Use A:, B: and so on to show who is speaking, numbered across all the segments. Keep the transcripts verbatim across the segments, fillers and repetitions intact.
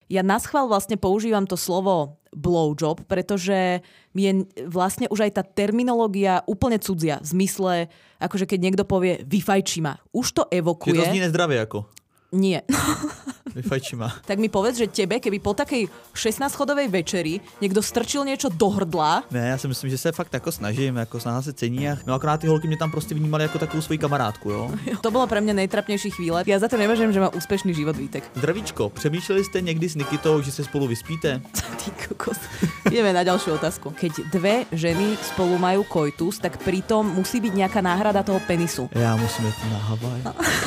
A: Ja naschvál vlastne používam to slovo blowjob, pretože mi je vlastne už aj tá terminológia úplne cudzia. V zmysle, akože keď niekto povie vyfajči ma. Už to evokuje.
B: Že to zní nezdravie ako.
A: Nie.
B: Vyfajči ma.
A: Tak mi povedz, že tebe, keby po takej šestnásťchodovej večeri niekto strčil niečo do hrdla.
B: Ne, já si myslím, že se fakt jako snažím, jako snaha se cení. No akorát ty holky mě tam prostě vnímali jako takovou svoji kamarádku, jo.
A: To bolo pre mňa nejtrapnejší chvíle. Ja za to nevažujem, že má úspešný život Vítek.
B: Zdravíčko, přemýšleli jste někdy s Nikitou, že se spolu vyspíte?
A: Ty kokos. Ideme na ďalšiu otázku. Keď dve ženy spolu majú koitus, tak pritom musí byť nejaká náhrada toho penisu.
B: Já musím jít na Havaj.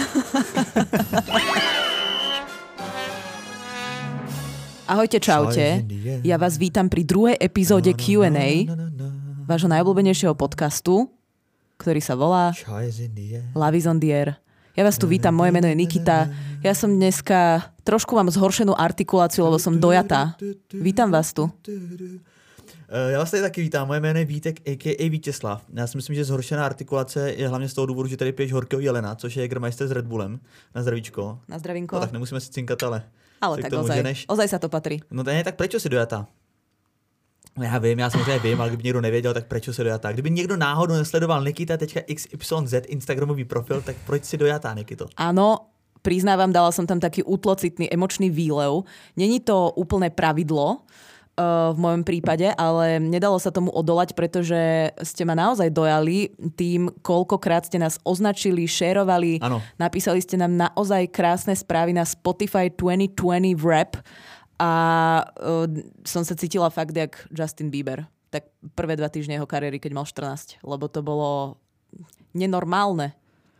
A: Ahojte, čaute. Ja vás vítam pri druhej epizóde Q and A vášho najobľúbenejšieho podcastu, ktorý sa volá Love is on the air. Ja vás tu vítam, moje meno je Nikita. Ja som dneska trošku mám zhoršenú artikuláciu, lebo som dojatá. Vítam vás tu.
B: Já vás tady taky vítám, moje jméno je Vítek, a ká a Vítězslav. Já si myslím, že zhoršená artikulace je hlavně z toho důvodu, že tady piješ horkého jelena, což je Jägermeister s Red Bullem. Na zdravíčko.
A: Na zdravinko.
B: No, tak nemusíme si cinkat, ale...
A: Ale tak ozaj, ozaj sa to patrí.
B: No to je tak, prečo si dojatá? No já vím, já samozřejmě vím, ale kdyby někdo nevěděl, tak prečo si dojatá? Kdyby někdo náhodou nesledoval nikita tečka iks ypsilon zet Instagramový profil, tak proč si dojatá, Nikito?
A: Áno, priznávam, dala som tam taký útlocitný emočný výlev. Není to úplné pravidlo uh, v mojom prípade, ale nedalo sa tomu odolať, pretože ste ma naozaj dojali tým, koľkokrát ste nás označili, šerovali,
B: ano.
A: Napísali ste nám naozaj krásne správy na Spotify dvetisícdvadsať Wrap a uh, som sa cítila fakt jak Justin Bieber. Tak prvé dva týždne jeho kariéry, keď mal štrnásť, lebo to bolo nenormálne.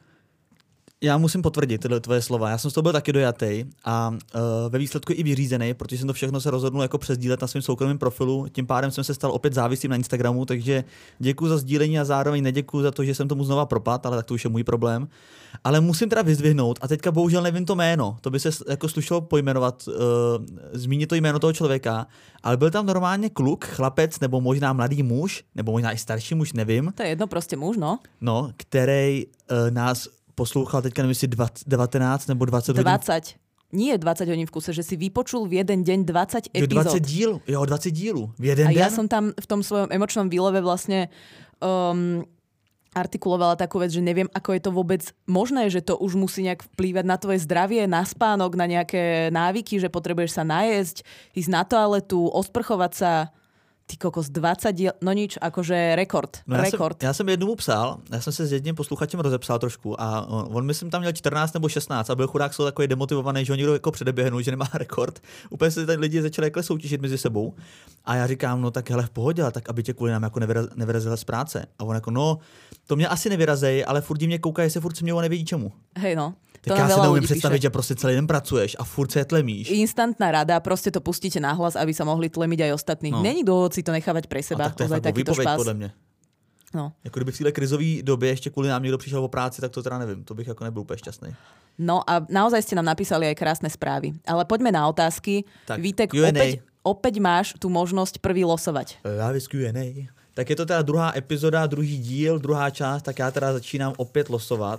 B: Já musím potvrdit tyhle tvoje slova. Já jsem z toho byl taky dojatý a uh, ve výsledku i vyřízený, protože jsem to všechno se rozhodnul jako přesdílet na svém soukromém profilu. Tím pádem jsem se stal opět závislým na Instagramu, takže děkuji za sdílení a zároveň neděkuji za to, že jsem tomu znova propad, ale tak to už je můj problém. Ale musím teda vyzdvihnout a teďka bohužel nevím to jméno. To by se jako slušelo pojmenovat, uh, zmínit to jméno toho člověka, ale byl tam normálně kluk, chlapec nebo možná mladý muž, nebo možná i starší muž, nevím.
A: To je jedno, prostě muž, no.
B: No, který uh, nás poslouchal teďka, nevím, si devätnásť nebo dvadsať hodín.
A: dvadsať. Nie dvadsať hodín v kuse, že si vypočul v jeden deň dvadsať epizód.
B: dvadsať díl, jo, dvadsať dílů v jeden
A: A
B: den.
A: ja som tam v tom svojom emočnom výleve vlastne um, artikulovala takú vec, že neviem, ako je to vôbec možné, že to už musí nejak vplývať na tvoje zdravie, na spánok, na nejaké návyky, že potrebuješ sa najesť, ísť na toaletu, osprchovať sa. Ty kokos, dvadsať diel, no nič, akože rekord.
B: No já,
A: rekord.
B: Jsem, já jsem jednomu psal, já jsem se s jedním posluchačem rozepsal trošku a on, on myslím tam měl čtrnáct nebo šestnáct a byl chudák jsou takový demotivovaný, že ho někdo jako předeběhnul, že nemá rekord. Úplně se tady lidi začali jako soutěžit mezi sebou a já říkám, no tak hele v pohodě, tak aby tě kvůli nám jako nevyraz, nevyrazila z práce. A on jako, no to mě asi nevyrazej, ale furt mě kouká, jestli furt smějou a nevědí čemu.
A: Hej no.
B: Tak já si neumím představit, že prostě celý den pracuješ a furt se tlemíš.
A: Instantná rada, prostě to pustíte nahlas, aby sa mohli tlemiť aj ostatní. No. Není dôvod si to nechávať pre seba.
B: A tak to je fakt výpověď podle mě.
A: No.
B: Jako kdyby v téhle krizové době ještě kvůli nám někdo přišel o práci, tak to teda nevím. To bych jako nebyl úplně šťastný.
A: No a naozaj ste nám napísali aj krásne správy. Ale poďme na otázky.
B: Tak,
A: Vítek, opäť, opäť máš tú možnosť prvý losovať.
B: Love is Q and A. Tak je to teda druhá epizoda, druhý díl, druhá část, tak já teda začínám opět losovat.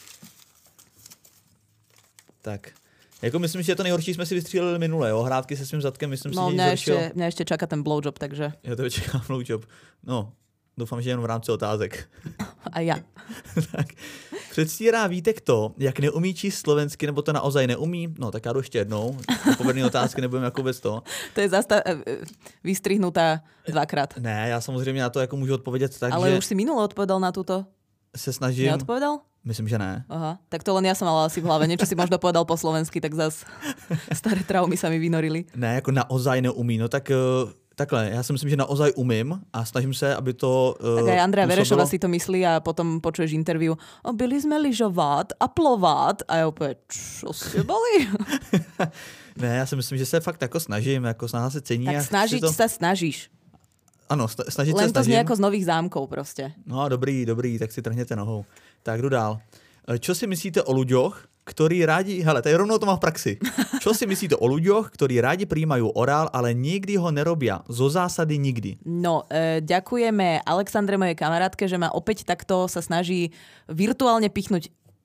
B: Tak, jako myslím, že to nejhorší jsme si vystříleli minule, jo? Hrátky se svým zadkem, myslím
A: no,
B: si, že
A: mňa ešte, mňa ešte čaká ten blowjob, takže...
B: Já to čekám blowjob. No, doufám, že jenom v rámci otázek.
A: A ja.
B: Tak, předstírá Vítek to, jak neumí číst slovensky, nebo to naozaj neumí? No, tak já jdu ještě jednou. Povedný otázky nebudem jako vůbec to.
A: To je zasta- vystrihnutá dvakrát.
B: Ne, já samozřejmě na to jako můžu odpovědět tak,
A: ale
B: že...
A: už si minule odpovedal na túto?
B: Se snažím...
A: Neodpovedal?
B: Myslím, že ne.
A: Aha, tak to len ja som mala asi v hlave. Niečo si možno povedal po slovensky, tak zas staré traumy sa mi vynorili.
B: Ne, jako naozaj neumí. No tak uh, takhle, já si myslím, že naozaj umím a snažím se, aby to uh,
A: Tak aj Andrea
B: působilo...
A: Verešová si to myslí a potom počuješ interview. O, byli sme lyžovat a plovat. A ja opäť, čo ste boli?
B: Ne, já si myslím, že se fakt jako snažím, jako snaha se cení.
A: Tak snažiť to... sa snažíš.
B: Ano, snažit
A: Len
B: se snažím.
A: Len to jako z nových zámkov prostě.
B: No dobrý, dobrý, tak si trhněte nohou. Tak jdu dál. Čo si myslíte o ľuďoch, ktorí rádi... Hele, tady rovnou to mám v praxi. Čo si myslíte o ľuďoch, ktorí rádi prijímajú orál, ale nikdy ho nerobia? Zo zásady nikdy.
A: No, e, ďakujeme Alexandre, mojej kamarátke, že ma opäť takto sa snaží virtuálne pichnúť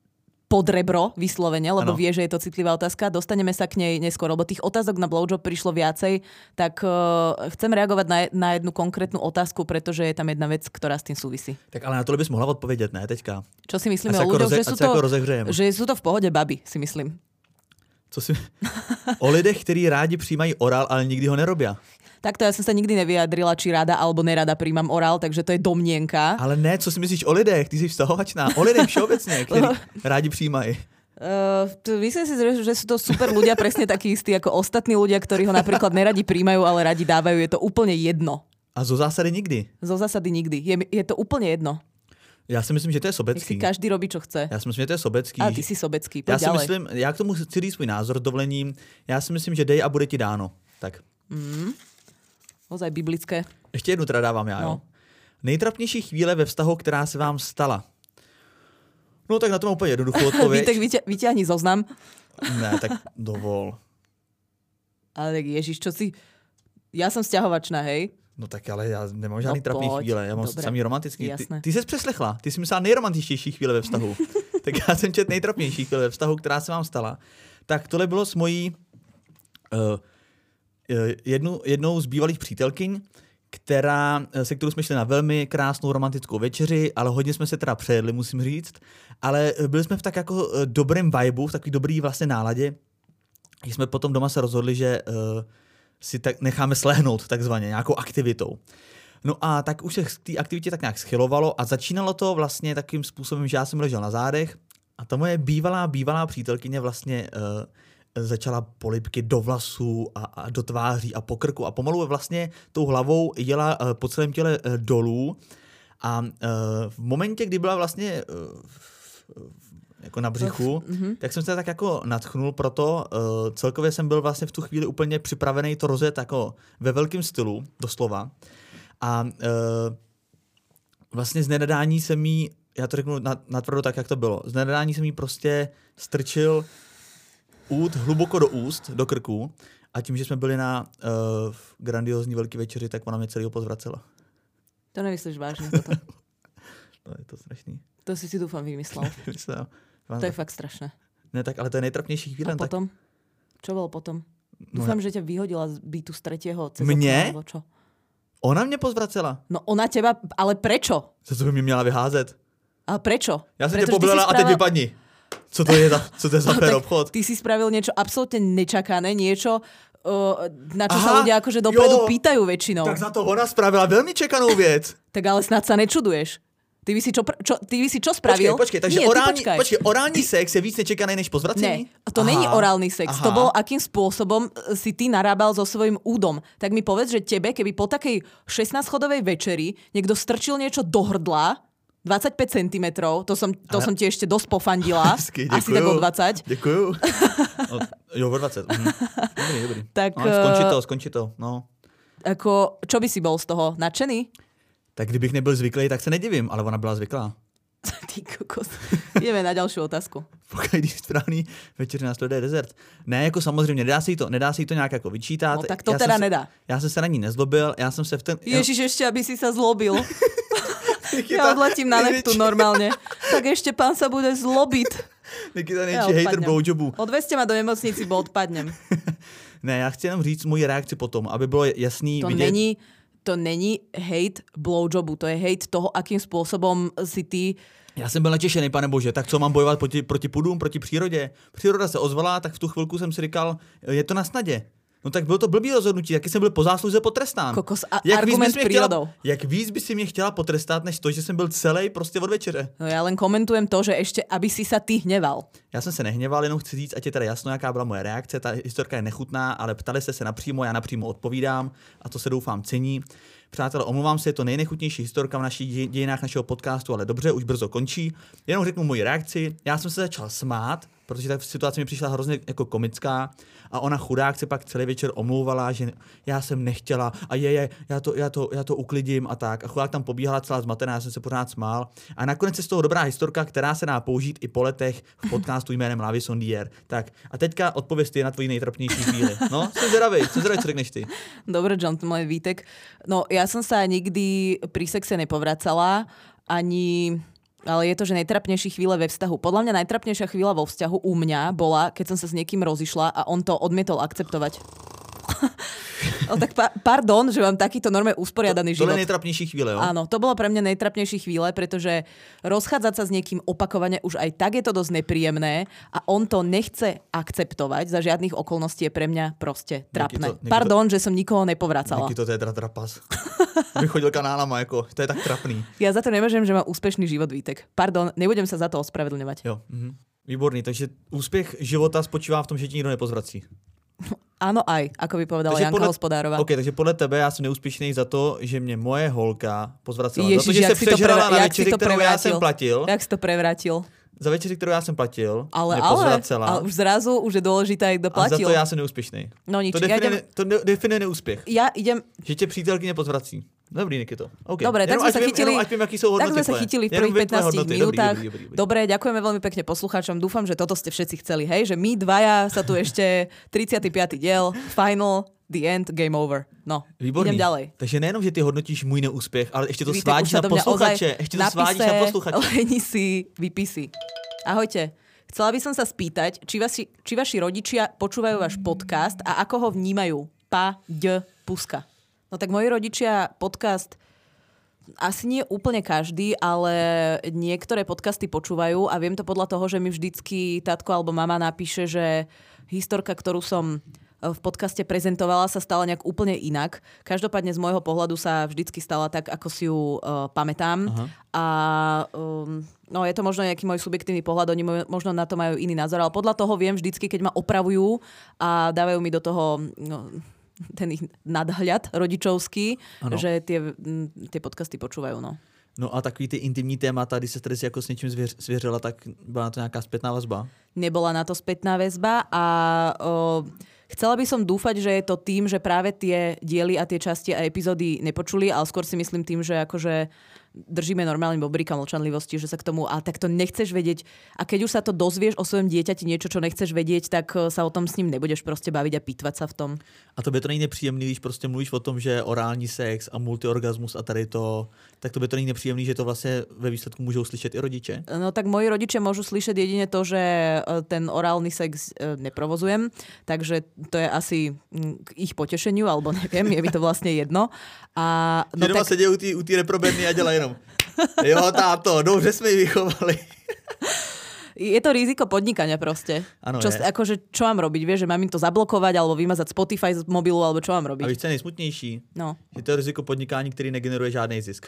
A: pod rebro vyslovene, lebo
B: ano.
A: vie, že je to citlivá otázka. Dostaneme sa k nej neskôr, lebo tých otázok na blowjob prišlo viacej, tak uh, chcem reagovať na, na jednu konkrétnu otázku, pretože je tam jedna vec, ktorá s tým súvisí.
B: Tak ale na to bys mohla odpovědět, ne teďka?
A: Čo si myslíme o
B: jako
A: ľuďoch,
B: roze,
A: že, sú to,
B: jako
A: že sú to v pohode baby, si myslím.
B: Co si... O lidech, kteří rádi přijímají orál, ale nikdy ho nerobia.
A: Takto ja som sa nikdy nevyjadrila, či rada alebo nerada príjmam orál, takže to je domnienka.
B: Ale ne, co si myslíš o lidech? Ty jsi vztahovačná. O lidech všeobecně, kteří rádi přijímají.
A: Uh, myslím si, že, že sú to super ľudia, presne takí istí ako ostatní ľudia, ktorí ho napríklad neradi príjmajú, ale radi dávajú. Je to úplne jedno.
B: A zo zásady nikdy?
A: Zo zásady nikdy. Je, je to úplne jedno.
B: Já si myslím, že to je sobecký.
A: Nech si každý robí, čo chce.
B: Já si myslím, že to je sobecký.
A: A ty si sobecký, poď
B: já si
A: ďalej.
B: myslím, já k tomu chci říct svůj názor s dovolením. Já si myslím, že dej a bude ti dáno. Tak.
A: Mm. Ozaj biblické.
B: Ještě jednu teda dávám já,
A: no.
B: jo. Nejtrapnější chvíle ve vztahu, která se vám stala. No tak na to mám úplně jednoduchou odpověď.
A: Vítek, vyťa- vyťahni zoznam.
B: Ne, tak dovol.
A: Ale tak Ježiš, čo si... Ja som sťahovačná, hej?
B: No tak ale já nemám žádný
A: No
B: trapný
A: pojď,
B: chvíle, já mám
A: dobré.
B: samý romantický. Ty,
A: Jasné.
B: ty jsi přeslechla, ty jsi myslela nejromantičtější chvíle ve vztahu. Tak já jsem čet nejtrapnější chvíle ve vztahu, která se vám stala. Tak tohle bylo s mojí uh, jednu, jednou z bývalých přítelkyň, která, se kterou jsme šli na velmi krásnou romantickou večeři, ale hodně jsme se teda přejedli, musím říct. Ale byli jsme v tak jako dobrém vibu, v takový dobrý vlastně náladě. Když jsme potom doma se rozhodli, že uh, si tak necháme slehnout takzvaně nějakou aktivitou. No a tak už se k té aktivitě tak nějak schylovalo a začínalo to vlastně takým způsobem, že já jsem ležel na zádech a ta moje bývalá, bývalá přítelkyně vlastně uh, začala polibky do vlasů a, a do tváří a po krku a pomalu vlastně tou hlavou jela uh, po celém těle uh, dolů a uh, v momentě, kdy byla vlastně uh, jako na břichu, mm-hmm. tak jsem se tak jako nadchnul, proto uh, celkově jsem byl vlastně v tu chvíli úplně připravený to rozjet jako ve velkém stylu, doslova. A uh, vlastně z nenadání jsem jí, já to řeknu natvrdo tak, jak to bylo, z nenadání jsem jí prostě strčil út hluboko do úst, do krku a tím, že jsme byli na uh, grandiózní velký večeři, tak ona mě celýho pozvracela.
A: To nemyslíš vážně toto?
B: No je to strašný.
A: To si si dúfam vymyslel.
B: Myslím,
A: to je fakt strašné.
B: Ne, tak ale to je nejtrapnější chvíle.
A: A potom?
B: Tak...
A: Čo bolo potom?
B: No
A: Dúfam,
B: ja...
A: že ťa vyhodila z bytu z tretieho cez
B: Mne?
A: okno, čo?
B: Ona mě pozvracela.
A: No ona teba, ale prečo?
B: Co to by mě měla vyházet?
A: Ale prečo?
B: Já jsem
A: Pretože
B: tě poblela
A: spravil...
B: a teď vypadni. Co to je za, co to je za
A: no,
B: fér obchod?
A: Ty si spravil niečo absolútne nečakané, niečo, uh, na čo
B: Aha,
A: sa ľudia akože dopredu
B: jo,
A: pýtajú väčšinou.
B: Tak za to ona spravila veľmi čekanou věc.
A: Tak ale snad sa nečuduješ. Ty by si čo, čo, ty by si čo spravil?
B: Počkej, počkej, takže
A: Nie,
B: orální,
A: počkaj.
B: počkej, orální sex je víc nečekaný než pozvracení?
A: Ne, to není orálny sex.
B: Aha.
A: To bolo, akým spôsobom si ty narábal so svojím údom. Tak mi povedz, že tebe, keby po takej šestnásťchodovej večeri niekto strčil niečo do hrdla, dvadsaťpäť centimetrov, to som, to Ale... som ti ešte dosť pofandila.
B: Hezky,
A: asi tak o dvadsať.
B: Děkuju. No, jo, o dvadsať. Mhm. Dobrý, dobrý.
A: Tak,
B: no, skončí to, skončí to. No.
A: Ako, čo by si bol z toho? Nadšený?
B: Tak kdybych nebyl zvyklý, tak se nedivím, ale ona byla zvyklá.
A: Ty kokos. Ideme na ďalšiu otázku.
B: Pokud když správný večer následuje dezert. Ne, jako samozřejmě, nedá se jí to, nedá se jí to nějak jako vyčítat.
A: No tak to
B: já
A: teda
B: se,
A: nedá.
B: Já jsem se na ní nezlobil, já jsem se v ten...
A: Ježiš, ešte, aby si sa zlobil. Ja odletím na Neptún normálne. Tak ešte pán sa bude zlobiť.
B: Nikita nejčí hater blowjobu.
A: Odvezte ma do nemocnici, bo odpadnem.
B: Ne, já chci jenom říct moji reakci potom, aby bylo jasný
A: to
B: vidět...
A: Není, to není hate blowjobu, to je hate toho, akým spôsobom si ty...
B: Já jsem byl natěšený, pane bože, tak co mám bojovat proti, proti pudům, proti přírodě? Příroda se ozvala, tak v tu chvilku jsem si říkal, je to na snadě. No tak bylo to blbý rozhodnutí, taky jsem byl po zásluze potrestán.
A: Kokos, a
B: jak
A: argument
B: víc
A: prírodou.
B: Chtěla, jak víc by si mě chtěla potrestat, než to, že jsem byl celý prostě od večeře.
A: No já len komentujem to, že ještě, aby si sa ty hneval.
B: Já jsem se nehněval, jenom chci říct, ať je teda jasno, jaká byla moje reakce. Ta historka je nechutná, ale ptali jste se napřímo, já napřímo odpovídám a to se doufám cení. Přátelé, omlouvám se, je to nejnechutnější historka v našich dějinách našeho podcastu, ale dobře, už brzo končí. Jenom řeknu moji reakci. Já jsem se začal smát, protože ta situace mi přišla hrozně jako komická a ona chudák se pak celý večer omlouvala, že já jsem nechtěla a je, je já, to, já, to, já to uklidím a tak. A chudák tam pobíhala celá zmatená, já jsem se pořád smál. A nakonec je z toho dobrá historka, která se dá použít i po letech v podcastu jménem Lavis on the Air. Tak a teďka odpověz ty na tvoji nejtrapnější chvíli. No, jsem zvědavý, jsem zvědavý, co řekneš ty.
A: Dobre, John, môj Vítek. No, ja som sa nikdy pri sexe nepovracala, ani Ale je to, že najtrapnejšie chvíle ve vzťahu. Podľa mňa najtrapnejšia chvíľa vo vzťahu u mňa bola, keď som sa s niekým rozišla a on to odmietol akceptovať. No tak pa- pardon, že mám takýto normálne usporiadaný
B: to,
A: život.
B: To je najtrapnejší chvíle, jo?
A: Áno, to bolo pre mňa najtrapnejšie chvíle, pretože rozchádzať sa s niekým opakovane už aj tak je to dosť nepríjemné a on to nechce akceptovať za žiadnych okolností je pre mňa proste trapné.
B: Nieký to, nieký
A: pardon,
B: to,
A: že som nikoho nepovracala.
B: Nieký to je teda trapas. Vychodil kanálama, ako, to je tak trapný.
A: Ja za to nemôžem, že mám úspešný život, Vítek. Pardon, nebudem sa za to ospravedlňovať.
B: Jo, mhm. Výborný, takže úspěch života spočívá v tom, že ti nikdo nepozvrací.
A: Áno aj, ako by povedala
B: takže
A: Janka
B: podle,
A: Hospodárová.
B: OK, takže podle tebe já jsem neúspěšný za to, že mě moje holka pozvracela.
A: Ježiš,
B: za to, že se přežrala na večeři, kterou já jsem platil.
A: Jak si to prevrátil?
B: Za večeři, kterou já jsem platil,
A: ale,
B: mě
A: ale,
B: pozvracela.
A: Ale už zrazu už je dôležité, jak doplatil.
B: A za to já jsem neúspěšný.
A: No nič.
B: To definuje,
A: ja idem...
B: to definuje neúspěch.
A: Ja idem...
B: Že tě přítelkyně pozvrací. Dobrý, Nikito. Okay.
A: Dobre, tak sme sa chytili,
B: vím, vím, sú tak
A: sme sa chytili v prvých pätnástich minútach. Dobrý, dobrý, dobrý. Dobre, ďakujeme veľmi pekne poslucháčom. Dúfam, že toto ste všetci chceli, hej? Že my dvaja sa tu ešte tridsiaty piaty diel, final, the end, game over. No,
B: výborný.
A: Idem ďalej.
B: Takže nejenom, že ty hodnotíš můj neúspěch, ale ještě to svádíš na posluchače. Ešte to svádíš na posluchače.
A: Leni si vypisy. Ahojte. Chcela by som sa spýtať, či vaši, či vaši rodičia počúvajú váš podcast a ako ho vnímajú? Pa, d, puska. No tak moji rodičia podcast asi nie úplne každý, ale niektoré podcasty počúvajú a viem to podľa toho, že mi vždycky tatko alebo mama napíše, že historka, ktorú som v podcaste prezentovala, sa stala nejak úplne inak. Každopádne z môjho pohľadu sa vždycky stala tak, ako si ju uh, pamätám. Aha. A um, no, je to možno nejaký môj subjektívny pohľad, oni možno na to majú iný názor, ale podľa toho viem vždycky, keď ma opravujú a dávajú mi do toho... No, ten ich nadhľad rodičovský, ano. Že tie, tie podcasty počúvajú. No.
B: No a takový ty intimní témata, když se tady si jako s něčím zvěř, svěřila, tak byla na to nějaká spätná vazba?
A: Nebola na to spätná väzba a o, chcela by som dúfať, že je to tým, že práve tie diely a tie časti a epizódy nepočuli, ale skôr si myslím tým, že akože držíme normálne bobrika mlčanlivosti, že sa k tomu, a tak to nechceš vedieť. A keď už sa to dozvieš o svojom dieťati niečo, čo nechceš vedieť, tak sa o tom s ním nebudeš proste baviť a pýtvať sa v tom.
B: A to by to není nepříjemný, když prostě mluvíš o tom, že orální sex a multiorgasmus a tady to, tak to by to není nepříjemný, že to vlastně ve výsledku můžou slyšet i rodiče?
A: No tak moji rodičia môžu slyšet jedine to, že ten orálny sex neprovozujem, takže to je asi k ich potešeniu, alebo neviem, je mi to vlastne jedno. A,
B: no že doma tak... sedí u té reprobedny a dělají jenom jo, táto, dobře jsme ji vychovali.
A: Je to riziko podnikania proste.
B: Ano,
A: čo, akože, čo mám robiť? Vieš, že mám im to zablokovať alebo vymazať Spotify z mobilu, alebo čo mám robiť?
B: A víš, co je nejsmutnější?
A: No.
B: Že to je riziko podnikání, který negeneruje žádný zisk.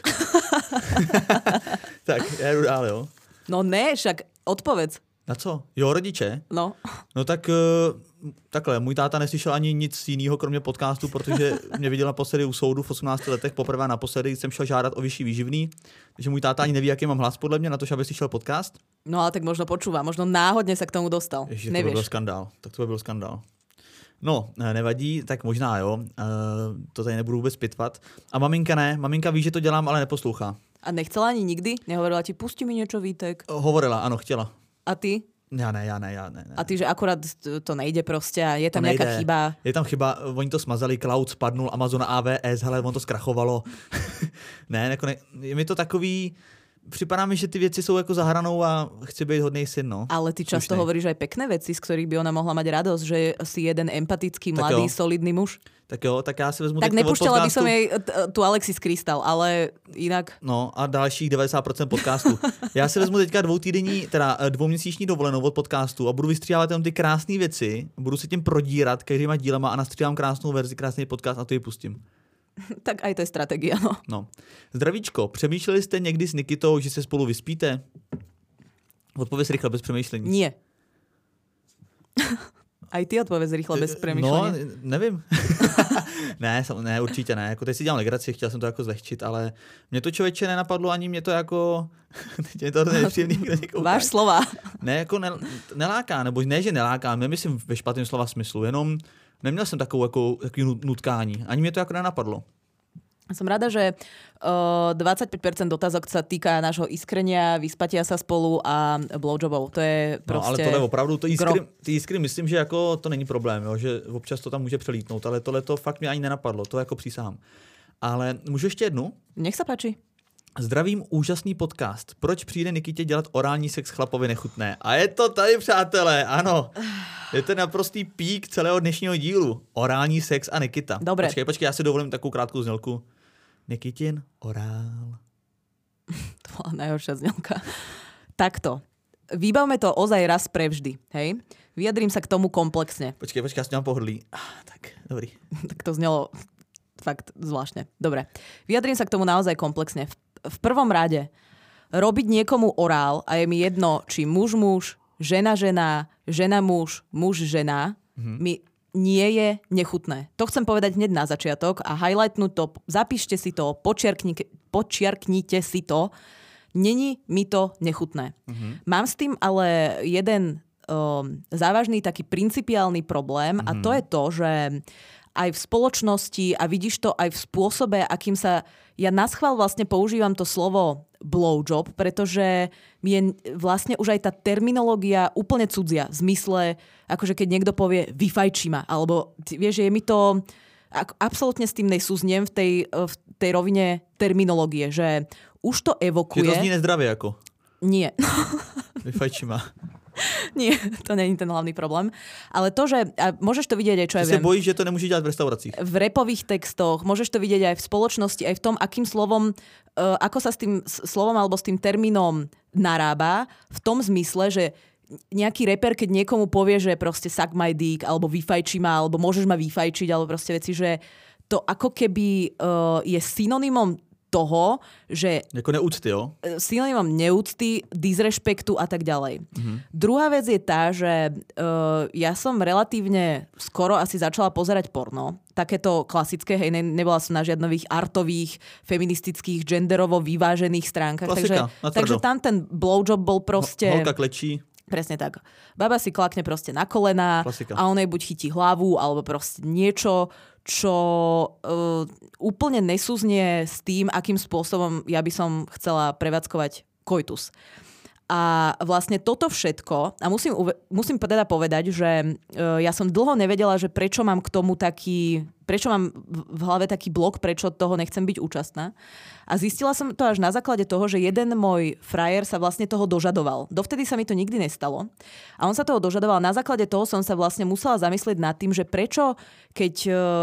B: Tak, já jdu dál, jo?
A: No ne, však odpovedz.
B: Na co? Jo, rodiče?
A: No.
B: No tak uh, takhle, můj táta neslyšel ani nic jiného, kromě podcastu, protože mě viděl naposledy u soudu v osmnácti letech, poprvé naposledy jsem šel žádat o vyšší výživný, takže můj táta ani neví, jaký mám hlas podle mě na to, aby slyšel podcast.
A: No ale tak možno počúva, možno náhodně se k tomu dostal.
B: Ježiš, to by byl skandál, tak to by byl skandál. No, nevadí, tak možná jo, uh, to tady nebudu vůbec pitvat. A maminka ne, maminka ví, že to dělám, ale neposlouchá.
A: A nechcela ani nikdy? Nehovorila ti, pusti mi niečo, Vítek?
B: Hovorila, ano, chtěla.
A: A ty?
B: Já ne, já ne, já ne. ne.
A: A ty, že akurát to nejde prostě a je tam nějaká chyba?
B: Je tam chyba, oni to smazali, cloud spadnul, Amazon A W S, hele, on to zkrachovalo. ne, jako ne, je mi to takový, připadá mi, že ty věci jsou jako za hranou a chci být hodnej syn, no.
A: Ale ty často Slušnej. hovoríš aj pekné veci, z ktorých by ona mohla mať radosť, že si jeden empatický, mladý, solidný muž.
B: Tak jo, tak já si vezmu
A: tak nepúšťala by som jej tu Alexis Krystal, ale jinak...
B: No a dalších devadesát procent podcastu. Já si vezmu teďka dvoutýdenní, teda dvouměsíční dovolenou od podcastu a budu vystříhávat tam ty krásné věci, budu se tím prodírat každýma dílama a nastříhám krásnou verzi, krásný podcast a to ji pustím.
A: Tak aj to je strategia, no.
B: No. Zdravíčko, přemýšleli jste někdy s Nikitou, že se spolu vyspíte? Odpověz rychle, bez přemýšlení.
A: Nie. Aj ty odpověz rychle, bez přemýšlení.
B: No, nevím. ne, ne, určitě ne. Jako teď si dělám legraci, chtěl jsem to jako zlehčit, ale mě to člověče nenapadlo, ani mě to jako... teď je to nepříjemný, kdo někoho
A: Váš slova.
B: Ne, jako ne, neláká, nebo ne, že neláká, nemyslím ve špatném slova smyslu, jenom neměl jsem takovou jako, takový nutkání. Ani mě to jako nenapadlo.
A: Som rada, že uh, dvadsaťpäť percent otázok sa týka nášho iskrenia, vyspatia sa spolu a blowjobov. To je prostě...
B: No ale tohle opravdu, to iskry, ty iskry myslím, že jako to není problém, jo, že občas to tam může přelítnout, ale tohle to fakt mě ani nenapadlo, to jako přísahám. Ale můžu ještě jednu?
A: Nech sa páči.
B: Zdravím, úžasný podcast. Proč přijde Nikitě dělat orální sex chlapovi nechutné? A je to tady, přátelé, ano. Je to naprostý pík celého dnešního dílu. Orální sex a Nikita.
A: Dobre.
B: Počkej, počkej, já si dovolím takovou krátkou znělku. Nikitin orál.
A: To bola najhoršia znělka. Takto. Vybavme to ozaj raz prevždy, hej? Vyjadrím sa k tomu komplexne.
B: Počkej, počkej, já si mám pohodlí. Ah, tak, dobrý.
A: Tak to znelo fakt zvláštne. Dobre. Vyjadrím sa k tomu naozaj komplexne. V, v prvom rade, robiť niekomu orál, a je mi jedno, či muž-muž, žena-žena, žena-muž, muž-žena, mm-hmm. mi nie je nechutné. To chcem povedať hneď na začiatok a highlightnúť to, zapíšte si to, počiarkni, počiarknite si to. Není mi to nechutné. Mm-hmm. Mám s tým ale jeden um, závažný taký principiálny problém mm-hmm. a to je to, že aj v spoločnosti a vidíš to aj v spôsobe, akým sa... Ja naschvál vlastne používam to slovo blowjob, pretože mi je vlastne už aj tá terminológia úplne cudzia. V zmysle, akože keď niekto povie vyfajči ma, alebo vieš, že je mi to... Absolútne s tým nesúznem v tej, v tej rovine terminológie, že už to evokuje...
B: Je to zní nezdravie ako?
A: Nie.
B: Vyfajči ma.
A: Nie, to nie je ten hlavný problém. Ale to, že a môžeš to vidieť aj, čo ja viem.
B: Ty sa bojíš, že to nemôžeš dělat v restauracích.
A: V rapových textoch, môžeš to vidieť aj v spoločnosti, aj v tom, akým slovom, uh, ako sa s tým slovom alebo s tým termínom narába, v tom zmysle, že nejaký reper, keď niekomu povie, že proste suck my dick, alebo vyfajči ma, alebo môžeš ma vyfajčiť, alebo proste veci, že to ako keby uh, je synonymom toho, že...
B: Jako neúcty, jo?
A: Synonymom neúcty, disrešpektu a tak ďalej. Mm-hmm. Druhá vec je tá, že uh, ja som relatívne skoro asi začala pozerať porno. Takéto klasické, hej, ne, nebola som na žiadnových artových, feministických, genderovo vyvážených stránkach.
B: Klasika,
A: takže, takže tam ten blowjob bol proste...
B: Holka klečí.
A: Presne tak. Baba si klakne proste na kolená a on jej buď chytí hlavu, alebo proste niečo, čo uh, úplne nesúznie s tým, akým spôsobom ja by som chcela prevádzkovať koitus. A vlastne toto všetko, a musím, musím teda povedať, že uh, ja som dlho nevedela, že prečo mám k tomu taký, prečo mám v hlave taký blok, prečo toho nechcem byť účastná. A zistila som to až na základe toho, že jeden môj frajer sa vlastne toho dožadoval. Dovtedy sa mi to nikdy nestalo. A on sa toho dožadoval. Na základe toho som sa vlastne musela zamyslieť nad tým, že prečo, keď,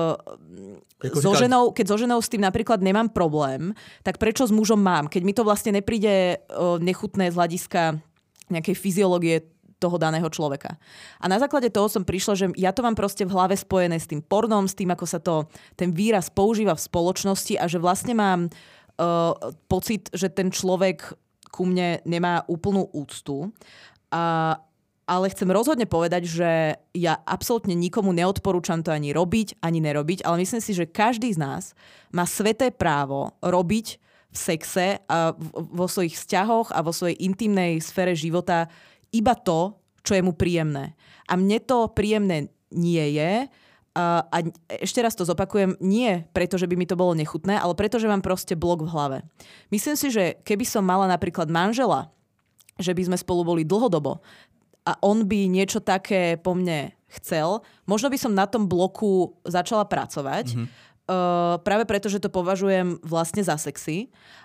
A: uh, so, ženou, keď so ženou s tým napríklad nemám problém, tak prečo s mužom mám? Keď mi to vlastne nepríde uh, nechutné z hľadiska nejakej fyziológie toho daného človeka. A na základe toho som prišla, že ja to mám proste v hlave spojené s tým pornom, s tým, ako sa to, ten výraz používa v spoločnosti a že vlastne mám uh, pocit, že ten človek ku mne nemá úplnú úctu. A, ale chcem rozhodne povedať, že ja absolútne nikomu neodporúčam to ani robiť, ani nerobiť, ale myslím si, že každý z nás má sveté právo robiť v sexe a vo svojich vzťahoch a vo svojej intimnej sfére života iba to, čo je mu príjemné. A mne to príjemné nie je. A, a ešte raz to zopakujem, nie preto, že by mi to bolo nechutné, ale preto, že mám proste blok v hlave. Myslím si, že keby som mala napríklad manžela, že by sme spolu boli dlhodobo a on by niečo také po mne chcel, možno by som na tom bloku začala pracovať. Mm-hmm. Uh, práve preto, že to považujem vlastne za sexy,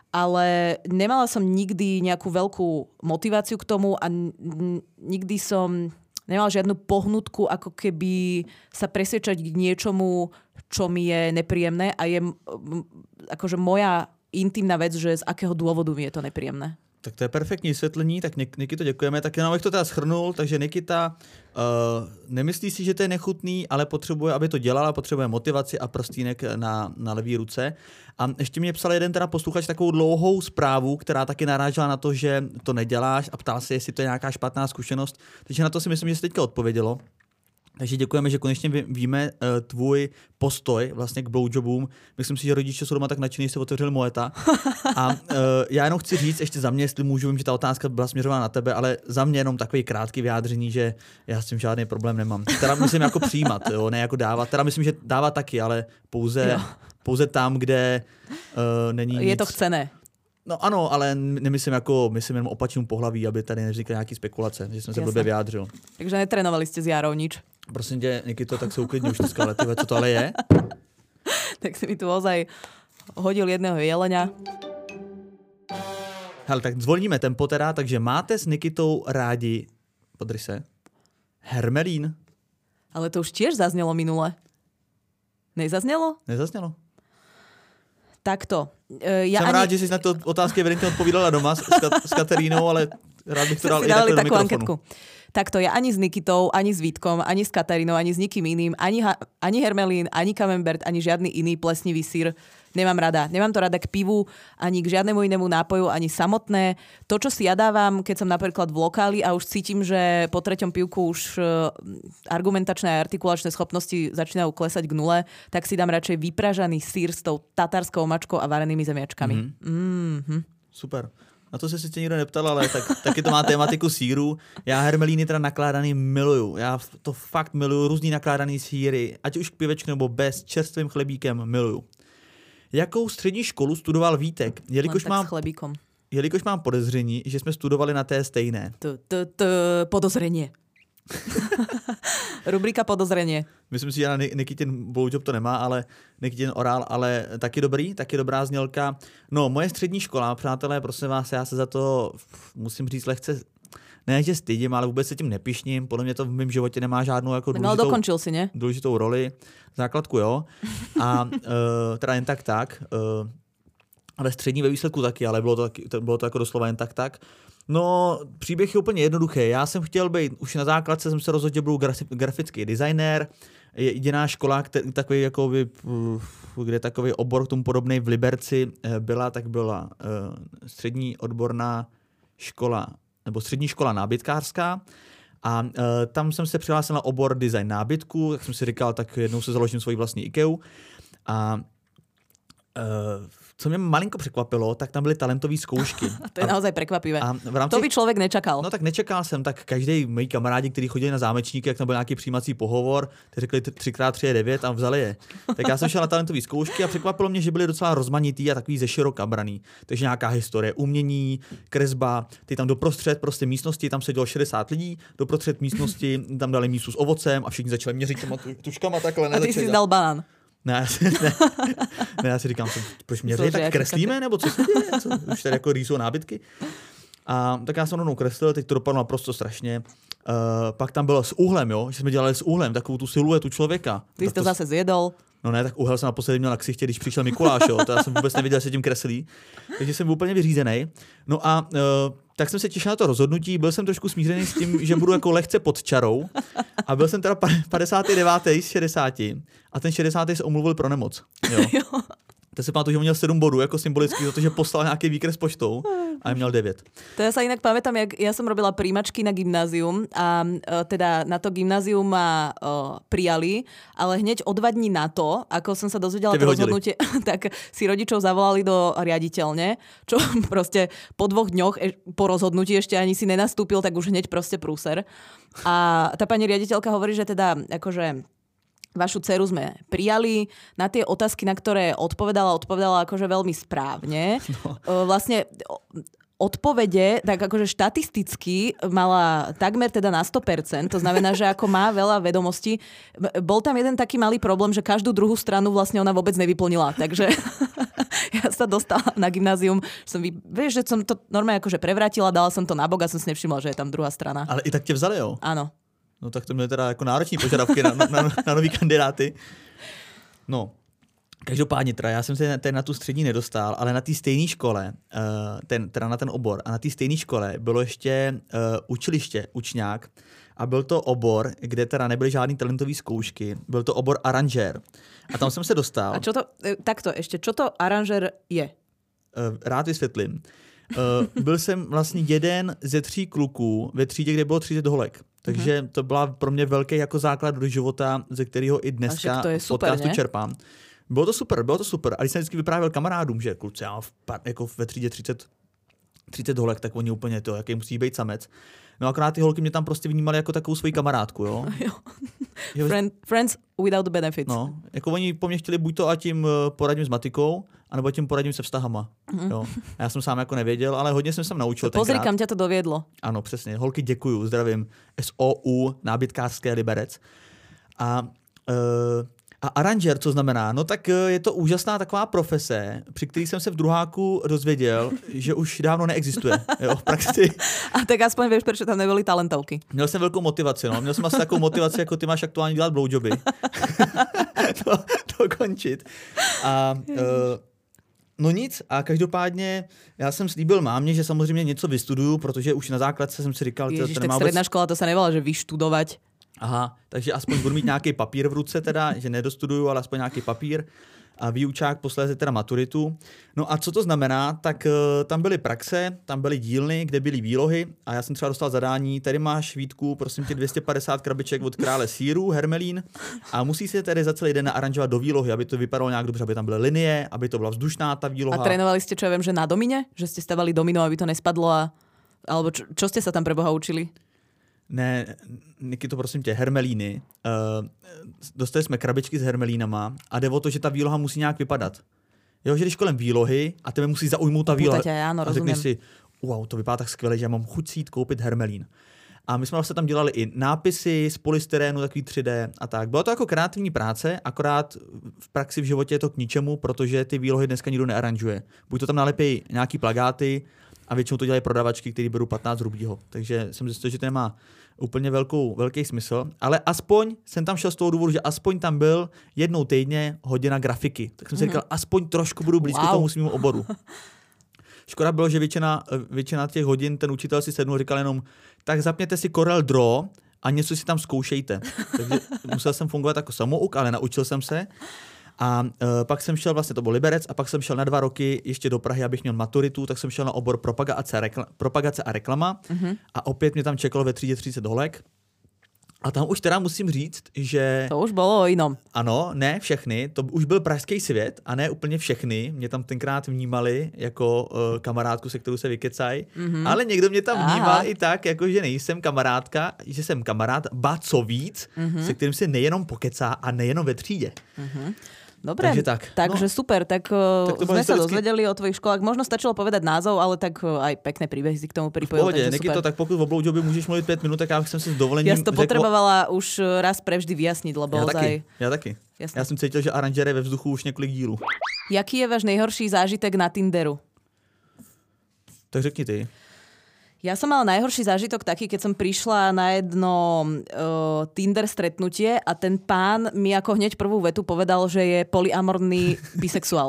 A: ale nemala som nikdy nejakú veľkú motiváciu k tomu a n- nikdy som nemala žiadnu pohnutku ako keby sa presvedčať k niečomu, čo mi je nepríjemné a je m- akože moja intimná vec, že z akého dôvodu mi je to nepríjemné.
B: Tak to je perfektní vysvětlení, tak Nikito děkujeme. Tak jenom abych to teda shrnul, takže Nikita uh, nemyslí si, že to je nechutný, ale potřebuje, aby to dělala, potřebuje motivaci a prstínek na, na levý ruce. A ještě mě psal jeden teda posluchač takovou dlouhou zprávu, která taky narážela na to, že to neděláš a ptal se, jestli to je nějaká špatná zkušenost. Takže na to si myslím, že se teďka odpovědělo. Takže děkujeme, že konečně víme uh, tvůj postoj vlastně k blowjobům. Myslím si, že rodiče jsou doma tak nadšení, že se otevřeli Moeta. A uh, já jenom chci říct ještě za mě, jestli můžu, vím, že ta otázka byla směřována na tebe, ale za mě jenom takový krátký vyjádření, že já s tím žádný problém nemám. Teda myslím jako přijímat, jo, ne jako dávat. Teda myslím, že dávat taky, ale pouze, pouze tam, kde uh, není
A: Je
B: nic.
A: to chcené.
B: No ano, ale nemyslím jako, myslím jenom opačnému pohlaví, aby tady nevznikly nějaký spekulace, že jsem se blbě vyjádřil.
A: Takže netrénovali jste s Jarou nič?
B: Prosím tě, Nikito, tak se uklidni už dneska, ale tyhle, co to ale je?
A: Tak si mi tu ozaj hodil jedného jelenia.
B: Hele, tak zvolníme tempo teda, takže máte s Nikitou rádi, podrž se, Hermelín?
A: Ale to už tiež zaznelo minule. Nezaznelo?
B: Nezaznelo.
A: Takto. E, ja
B: Jsem
A: ani...
B: rád, že jsi na to otázky evidentně odpovídala doma s, s Katerínou, ale rád bych to dal i takhle do mikrofonu. Anketku.
A: Takto, ja ani s Nikitou, ani s Vítkom, ani s Katarínou, ani s nikým iným, ani, ha- ani Hermelín, ani Camembert, ani žiadny iný plesnivý syr nemám rada. Nemám to rada k pivu, ani k žiadnemu inému nápoju, ani samotné. To, čo si ja dávam, keď som napríklad v lokáli a už cítim, že po treťom pivku už argumentačné a artikulačné schopnosti začínajú klesať k nule, tak si dám radšej vypražaný syr s tou tatarskou mačkou a varenými zemiačkami. Mm-hmm. Mm-hmm.
B: Super. Na to se sice nikdo neptal, ale tak, taky to má tématiku sýru. Já hermelíny teda nakládaný miluju. Já to fakt miluju, různý nakládaný sýry, ať už k pivečku nebo bez, čerstvým chlebíkem miluju. Jakou střední školu studoval Vítek? Jelikož mám, jelikož mám podezření, že jsme studovali na té stejné.
A: Podozření. Rubrika podozření.
B: Myslím si, že na Nikitin blowjob to nemá, ale Nikitin orál, ale taky dobrý, taky dobrá znělka. No, moje střední škola, přátelé, prosím vás, já se za to musím říct lehce, ne, že stydím, ale vůbec se tím nepišním. Podle mě to v mém životě nemá žádnou jako důležitou,
A: no, dokončil si, ne?
B: důležitou roli. Základku, jo. A uh, teda jen tak tak. Uh, ale střední ve výsledku taky, ale bylo to, taky, to, bylo to jako doslova jen tak tak. No, příběh je úplně jednoduchý. Já jsem chtěl být, už na základce jsem se rozhodl, že budu grafický designér. Je jediná škola, který, takový, jakoby, kde takový obor k tomu podobný v Liberci byla, tak byla uh, střední odborná škola, nebo střední škola nábytkářská. A uh, tam jsem se přihlásil na obor design nábytku, tak jsem si říkal, tak jednou se založím svoji vlastní IKEA. A uh, co mě malinko překvapilo, tak tam byly talentové zkoušky.
A: To je a, naozaj prekvapivé. A v rámci, to by člověk nečakal.
B: No tak nečekal jsem, tak každý moji kamarádi, kteří chodili na zámečníky, jak tam byl nějaký přijímací pohovor, ty řekli tři krát tři je devět a vzali je. Tak já jsem šel na talentové zkoušky a překvapilo mě, že byly docela rozmanitý a takový ze široka braný. Takže nějaká historie, umění, kresba, ty tam doprostřed prostě místnosti, tam sedělo šedesát lidí, doprostřed místnosti tam dali místu s ovocem a všichni začali měřit těma tuškama takhle.
A: A ty jsi dal banán.
B: Ne, já si, ne, ne, já si říkám, proč mě tady tak kreslíme, nebo co se děje? Co? Už tady jako rýsou nábytky. A tak já jsem rovnou kreslil, teď to dopadlo naprosto strašně. Uh, pak tam bylo s úhlem, jo, že jsme dělali s úhlem, takovou tu siluetu člověka.
A: Ty jsi to zase zjedol.
B: No ne, tak úhel jsem naposledy měl na ksichtě, když přišel Mikuláš, jo, to já jsem vůbec nevěděl, že se tím kreslí. Takže jsem byl úplně vyřízený. No a uh, tak jsem se těšil na to rozhodnutí, byl jsem trošku smířený s tím, že budu jako lehce pod čarou a byl jsem teda padesátý devátý z šedesáti a ten šedesátý se omluvil pro nemoc. Jo. To se pamatuju, že měl sedm bodů jako symbolicky za to, že poslal nějaký výkres poštou a měl devět.
A: To ja sa inak pamätám, jak ja som robila príjmačky na gymnázium a uh, teda na to gymnázium ma uh, prijali, ale hneď o dva dní na to, ako som sa dozvedela to rozhodnutie, tak si rodičov zavolali do riaditeľne, čo proste po dvoch dňoch e- po rozhodnutí ešte ani si nenastúpil, tak už hneď proste prúser. A tá pani riaditeľka hovorí, že teda akože vašu dceru sme prijali. Na tie otázky, na ktoré odpovedala, odpovedala akože veľmi správne. No. Vlastne odpovede, tak akože štatisticky mala takmer teda na sto percent. To znamená, že ako má veľa vedomostí. Bol tam jeden taký malý problém, že každú druhú stranu vlastne ona vôbec nevyplnila. Takže ja sa dostala na gymnázium, som vy, vieš, že som to normálne akože prevrátila, dala som to na bok a som si nevšimla, že je tam druhá strana.
B: Ale i tak tě vzali, jo?
A: Áno.
B: No tak to měly teda jako nároční požadavky na, na, na nový kandidáty. No, každopádně teda, já jsem se ten na tu střední nedostal, ale na té stejné škole, ten, teda na ten obor, a na té stejné škole bylo ještě uh, učiliště, učňák, a byl to obor, kde teda nebyly žádný talentové zkoušky, byl to obor aranžér. A tam jsem se dostal.
A: A čo to, takto ještě, čo to aranžér je?
B: Uh, rád vysvětlím. Uh, byl jsem vlastně jeden ze tří kluků ve třídě, kde bylo třicet holek. Takže mm-hmm. to byla pro mě velký jako základ do života, ze kterého i dneska v podcastu čerpám. Bylo to super, bylo to super. A když jsem vždycky vyprávěl kamarádům, že kluci, já v, jako ve třídě třicet, třicet holek, tak oni úplně to, jaký musí být samec. No akorát ty holky mě tam prostě vnímali jako takovou svoji kamarádku, jo.
A: jo. Friend, friends without benefits.
B: No, jako oni po mně chtěli buď to, ať jim poradím s matikou, anebo tím poradím se vztahama. Mm-hmm. Jo. A já jsem sám jako nevěděl, ale hodně jsem se tam naučil tenkrát.
A: Pozri, kam tě to dovedlo.
B: Ano, přesně. Holky, děkuju, zdravím. S O U, nábytkářské Liberec. A, uh, A aranžér, co znamená? No tak je to úžasná taková profese, při který jsem se v druháku dozvěděl, že už dávno neexistuje. Jo, v praxi.
A: A tak aspoň vieš, prečo tam nebyly talentovky.
B: Měl jsem velkou motivaci, no. Měl jsem asi takovou motivaci, jako ty máš aktuálně dělat blowjoby. to, to končit. A uh, no nic, a každopádně já jsem slíbil mámě, že samozřejmě něco vystuduju, protože už na základce jsem si říkal,
A: Ježiš,
B: to
A: tak
B: nemá
A: stredná
B: vůbec...
A: škola, to sa nevolá, že vyštudovať.
B: Aha, takže aspoň budu mít nějaký papír v ruce teda, že nedostuduju, ale aspoň nějaký papír a výučák, posléze teda maturitu. No a co to znamená? Tak uh, tam byly praxe, tam byly dílny, kde byly výlohy a já jsem třeba dostal zadání, tady máš, Vítku, prosím tě, dvě stě padesát krabiček od krále sýru, hermelín a musí se tedy za celý den naaranžovat do výlohy, aby to vypadalo nějak dobře, aby tam byly linie, aby to byla vzdušná ta výloha.
A: A trénovali ste, čo ja viem, že na domine? Že ste stavali domino, aby to nespadlo a... Alebo čo, čo ste sa tam pre Boha učili?
B: Ne, Niky, to prosím tě, hermelíny. Uh, dostali jsme krabičky s hermelínama a jde o to, že ta výloha musí nějak vypadat. Jo, že když kolem výlohy a tebe musí zaujmout ta výloha
A: Půjtate, áno,
B: a řekneš
A: rozumiem.
B: si, wow, to vypadá tak skvěle, že já mám chuť si jít koupit hermelín. A my jsme vlastně tam dělali i nápisy z polystyrénu, takový tři dé a tak. Bylo to jako kreativní práce, akorát v praxi v životě je to k ničemu, protože ty výlohy dneska nikdo nearanžuje. Buď to tam nalepí nějaký plagáty, a většinou to dělají prodavačky, které berou patnáct rubího. Takže jsem zjistil, že to nemá úplně velkou, velký smysl. Ale aspoň jsem tam šel z toho důvodu, že aspoň tam byl jednou týdně hodina grafiky. Tak jsem si mm-hmm. říkal, aspoň trošku budu blízko wow. tomu svýmu oboru. Škoda bylo, že většina, většina těch hodin ten učitel si sednul a říkal jenom, tak zapněte si Corel Draw a něco si tam zkoušejte. Takže musel jsem fungovat jako samouk, ale naučil jsem se. A uh, pak jsem šel, vlastně to byl Liberec, a pak jsem šel na dva roky ještě do Prahy, abych měl maturitu, tak jsem šel na obor propagace, rekla, propagace a reklama mm-hmm. a opět mě tam čekalo ve třídě třicet holek. A tam už teda musím říct, že...
A: To už bylo o jinom.
B: Ano, ne všechny, to už byl pražský svět a ne úplně všechny. Mě tam tenkrát vnímali jako uh, kamarádku, se kterou se vykecají, mm-hmm. ale někdo mě tam vnímal Aha. i tak, jako že nejsem kamarádka, že jsem kamarád, ba co víc, mm-hmm. se kterým se nejenom pokecá a nejenom ve třídě.
A: Mm-hmm. Dobre,
B: takže, tak.
A: takže no, super, tak, tak sme sa dozvedeli o tvojich školách. Možno stačilo povedať názov, ale tak aj pekné príbehy si k tomu pripojil.
B: V pohodě, Nikito, tak pokud v blowjoby můžeš mluvit pět minut, tak já jsem si s dovolením
A: Ja si to řekl... potrebovala už raz prevždy vyjasniť, lebo
B: ja
A: ozaj...
B: taky, ja taky. Jasne. Já jsem cítil, že aranžér je ve vzduchu už několik dílů.
A: Jaký je váš nejhorší zážitek na Tinderu?
B: Tak řekni ty.
A: Ja som mala najhorší zážitok taký, keď som prišla na jedno uh, Tinder stretnutie a ten pán mi ako hneď prvú vetu povedal, že je polyamorný bisexuál.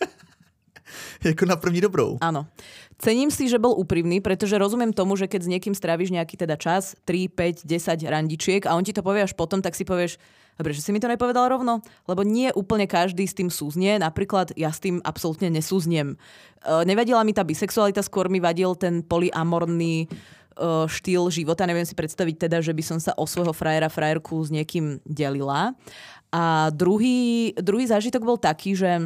B: Jako na první dobrou.
A: Áno. Cením si, že bol úprimný, pretože rozumiem tomu, že keď s niekým stráviš nejaký teda čas, tri, päť, desať randičiek a on ti to povie až potom, tak si povieš, dobre, že si mi to nepovedal rovno, lebo nie úplne každý s tým súznie. Napríklad ja s tým absolútne nesúzniem. E, nevadila mi tá bisexualita, skôr mi vadil ten polyamorný e, štýl života. Neviem si predstaviť teda, že by som sa o svojho frajera, frajerku s niekým delila. A druhý, druhý zážitok bol taký, že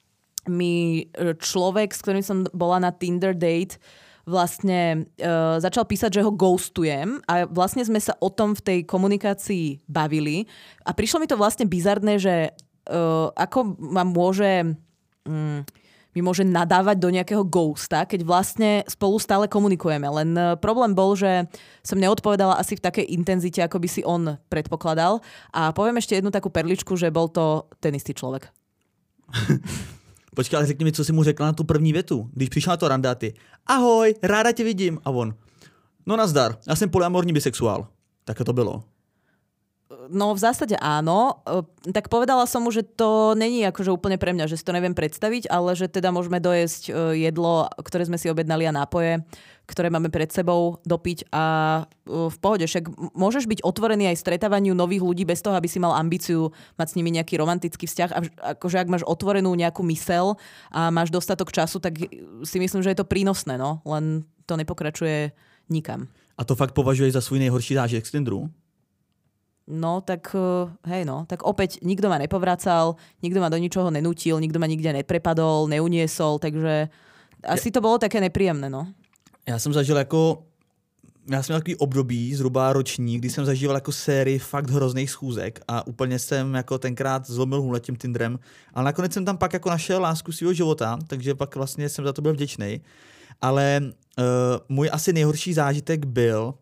A: mi človek, s ktorým som bola na Tinder date, vlastne uh, začal písať, že ho ghostujem a vlastne sme sa o tom v tej komunikácii bavili a prišlo mi to vlastne bizarné, že uh, ako ma môže um, mi môže nadávať do nejakého ghosta, keď vlastne spolu stále komunikujeme. Len uh, problém bol, že som neodpovedala asi v takej intenzite, ako by si on predpokladal. A poviem ešte jednu takú perličku, že bol to ten istý človek.
B: Počkej, ale řekni mi, co jsi mu řekla na tu první větu. Když přišla na to randa, ty, ahoj, ráda tě vidím. A on, no nazdar, já jsem polyamorní bisexuál. Tak to bylo.
A: No v zásade áno. Tak povedala som mu, že to není akože úplne pre mňa, že si to neviem predstaviť, ale že teda môžeme dojesť jedlo, ktoré sme si objednali a nápoje, ktoré máme pred sebou, dopiť a v pohode. Však môžeš byť otvorený aj stretávaniu nových ľudí bez toho, aby si mal ambíciu mať s nimi nejaký romantický vzťah. A akože ak máš otvorenú nejakú mysel a máš dostatok času, tak si myslím, že je to prínosné, no. Len to nepokračuje nikam.
B: A to fakt považuješ za svůj nejhorší zážitek z Tinderu?
A: No, tak hej no, tak opäť nikto ma nepovracal, nikto ma do ničoho nenútil, nikto ma nikde neprepadol, neuniesol, takže asi to bolo také nepríjemné, no.
B: Já jsem zažil jako, já jsem měl takový období, zhruba roční, kdy jsem zažíval jako sérii fakt hrozných schůzek a úplně jsem jako tenkrát zlomil hůl tím Tinderem, ale nakonec jsem tam pak jako našel lásku svého života, takže pak vlastně jsem za to byl vděčný. Ale uh, můj asi nejhorší zážitek byl,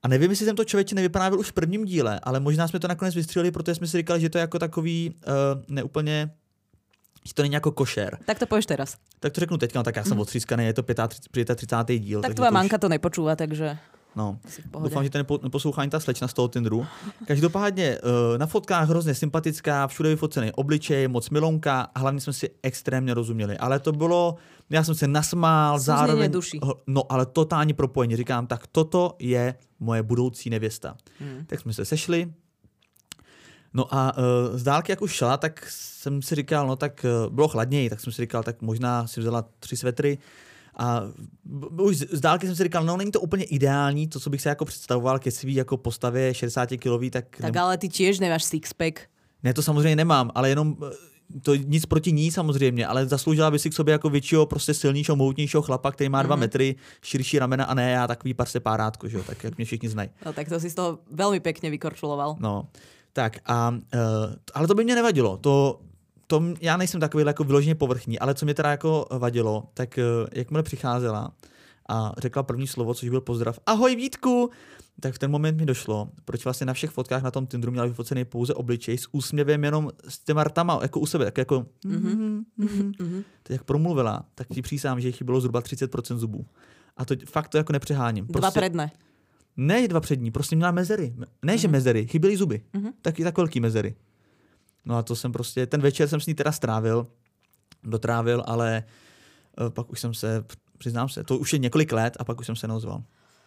B: A nevím, jestli jsem to člověče nevyprávěl už v prvním díle, ale možná jsme to nakonec vystřelili, protože jsme si říkali, že to je jako takový uh, neúplně, že to není jako košer.
A: Tak to povieš teraz.
B: Tak to řeknu teďka, no tak já jsem mm. odřískaný, je to třicátý díl.
A: Tak tvoja manka to nepočúva, takže...
B: No, doufám, že to nepo, neposlouchá ani ta slečna z toho Tinderu. Každopádně uh, na fotkách hrozně sympatická, všude vyfocený obličej, moc milonka a hlavně jsme si extrémně rozuměli. Ale to bylo, já jsem se nasmál,
A: Suzněně
B: zároveň...
A: duší.
B: No, ale totální propojení. Říkám, tak toto je moje budoucí nevěsta. Hmm. Tak jsme se sešli. No a uh, z dálky, jak už šla, tak jsem si říkal, no tak uh, bylo chladněji, tak jsem si říkal, tak možná si vzala tři svetry. A už z dálky jsem si říkal, no není to úplně ideální, to, co bych se jako představoval ke svý jako postavě šedesátikilový, tak...
A: Tak ale ty tiež nemáš sixpack.
B: Ne, to samozřejmě nemám, ale jenom to nic proti ní samozřejmě, ale zasloužila by si k sobě jako většího, prostě silnějšího, mohutnějšího chlapa, který má dva mm-hmm. metry, širší ramena a ne já takový par separátko, že jo, tak jak mě všichni znají.
A: No tak to si z toho velmi pěkně vykorčuloval.
B: No, tak a, uh, ale to by mě nevadilo, to... To, já nejsem takový jako vyloženě povrchní, ale co mě teda jako vadilo, tak jakmile přicházela a řekla první slovo, což byl pozdrav, ahoj Vítku, tak v ten moment mi došlo, proč vlastně na všech fotkách na tom Tinderu měla vyfocený pouze obličej s úsměvem jenom s těma rtama, jako u sebe, tak jako mm-hmm, mm-hmm. Teď jak promluvila, tak ti přísám, že jí chybilo zhruba třicet procent zubů. A to fakt to jako nepřeháním.
A: Prostě, dva předné.
B: Ne dva přední, prostě měla mezery. Ne, že mm-hmm. mezery, chyběly zuby. Mm-hmm. Taky tak velký mezery. No a to jsem prostě, ten večer jsem s ní teda strávil, dotrávil, ale uh, pak už jsem se, přiznám se, to už je několik let a pak už jsem se neozval.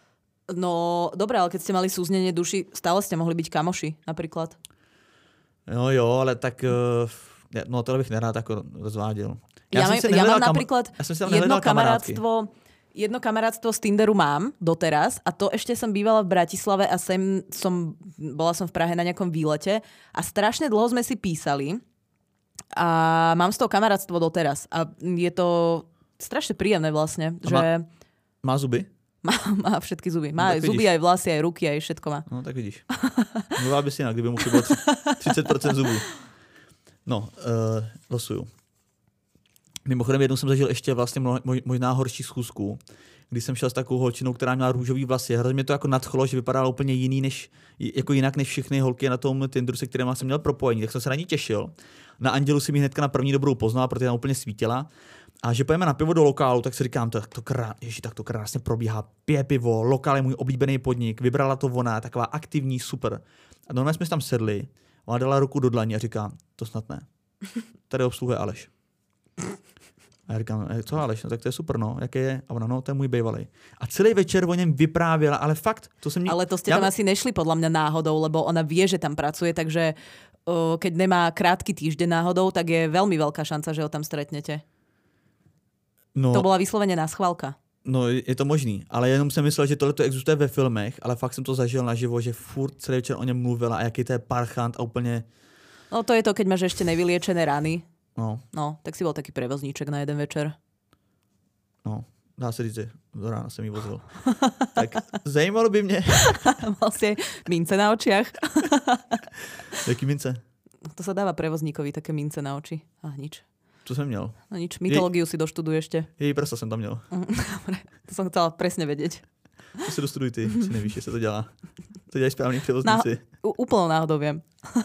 A: No dobré, ale keď ste mali súznenie duši, stále ste mohli byť kamoši napríklad.
B: No jo, ale tak, uh, no tohle bych nerád jako rozváděl.
A: Já, ja,
B: jsem
A: ja mám
B: kam...
A: napríklad jedno kamarátstvo, jedno kamarátstvo z Tinderu mám doteraz a to ešte som bývala v Bratislave a sem som, bola som v Prahe na nejakom výlete a strašne dlho sme si písali a mám z toho kamarátstvo doteraz a je to strašne príjemné vlastne, a že...
B: Má, má zuby?
A: Má, má všetky zuby. Má no, aj zuby, aj vlasy, aj ruky, aj všetko má.
B: No tak vidíš. Mluvila by si jinak, kdyby mu chybilo třicet procent zubů. No, uh, losuju. Mimochodem jednou jsem zažil ještě vlastně možná horší schůzku, když jsem šel s takovou holčinou, která měla růžový vlasy. Hrozně mě to jako nadchlo, že vypadala úplně jiný než, jako jinak než všechny holky na tom Tinderu, se kterými jsem měl propojení. Tak jsem se na ní těšil. Na Andělu si mi hnedka na první dobrou poznala, protože tam úplně svítila. A že pojeme na pivo do lokálu, tak si říkám, tak to, krá... Ježi, tak to krásně probíhá. Pije pivo, lokál je můj oblíbený podnik, vybrala to ona, taková aktivní, super. A normálně jsme tam sedli, ona dala ruku do dlaně a říká, to snad ne. Tady obsluhuje Aleš. A já říkám, co Aleš, no tak to je super, no, jaké je? A ona, no, to je můj bývalý. A celý večer o něm vyprávěla, ale fakt, to jsem... Nik...
A: Ale to ste tam ja... asi nešli podľa mňa náhodou, lebo ona vie, že tam pracuje, takže uh, keď nemá krátky týždeň náhodou, tak je veľmi veľká šanca, že ho tam stretnete. No, to bola vyslovene náschválka.
B: No, je to možný, ale jenom jsem myslel, že tohle to existuje ve filmech, ale fakt jsem to zažil naživo, že furt celý večer o něm mluvila a jaký to je parchant a úplně...
A: No to je to, keď máš ešte nevyliečené rany.
B: No.
A: No, tak si bol taký prevozníček na jeden večer.
B: No, dá se říct, do rána jsem jí vozil. Tak zajímalo by mě...
A: Mal si mince na očiach.
B: Jaký mince?
A: To sa dáva prevozníkovi, také mince na oči. A nič.
B: Co jsem měl?
A: No nič, mytológiu Jej... si doštuduj ešte.
B: Její prsa jsem tam měl.
A: Dobre, to som chcela presne vedieť.
B: To si dostuduj ty, si nevíš, že se to dělá. To dělají správní převozníci.
A: Náho- úplnou náhodou vím.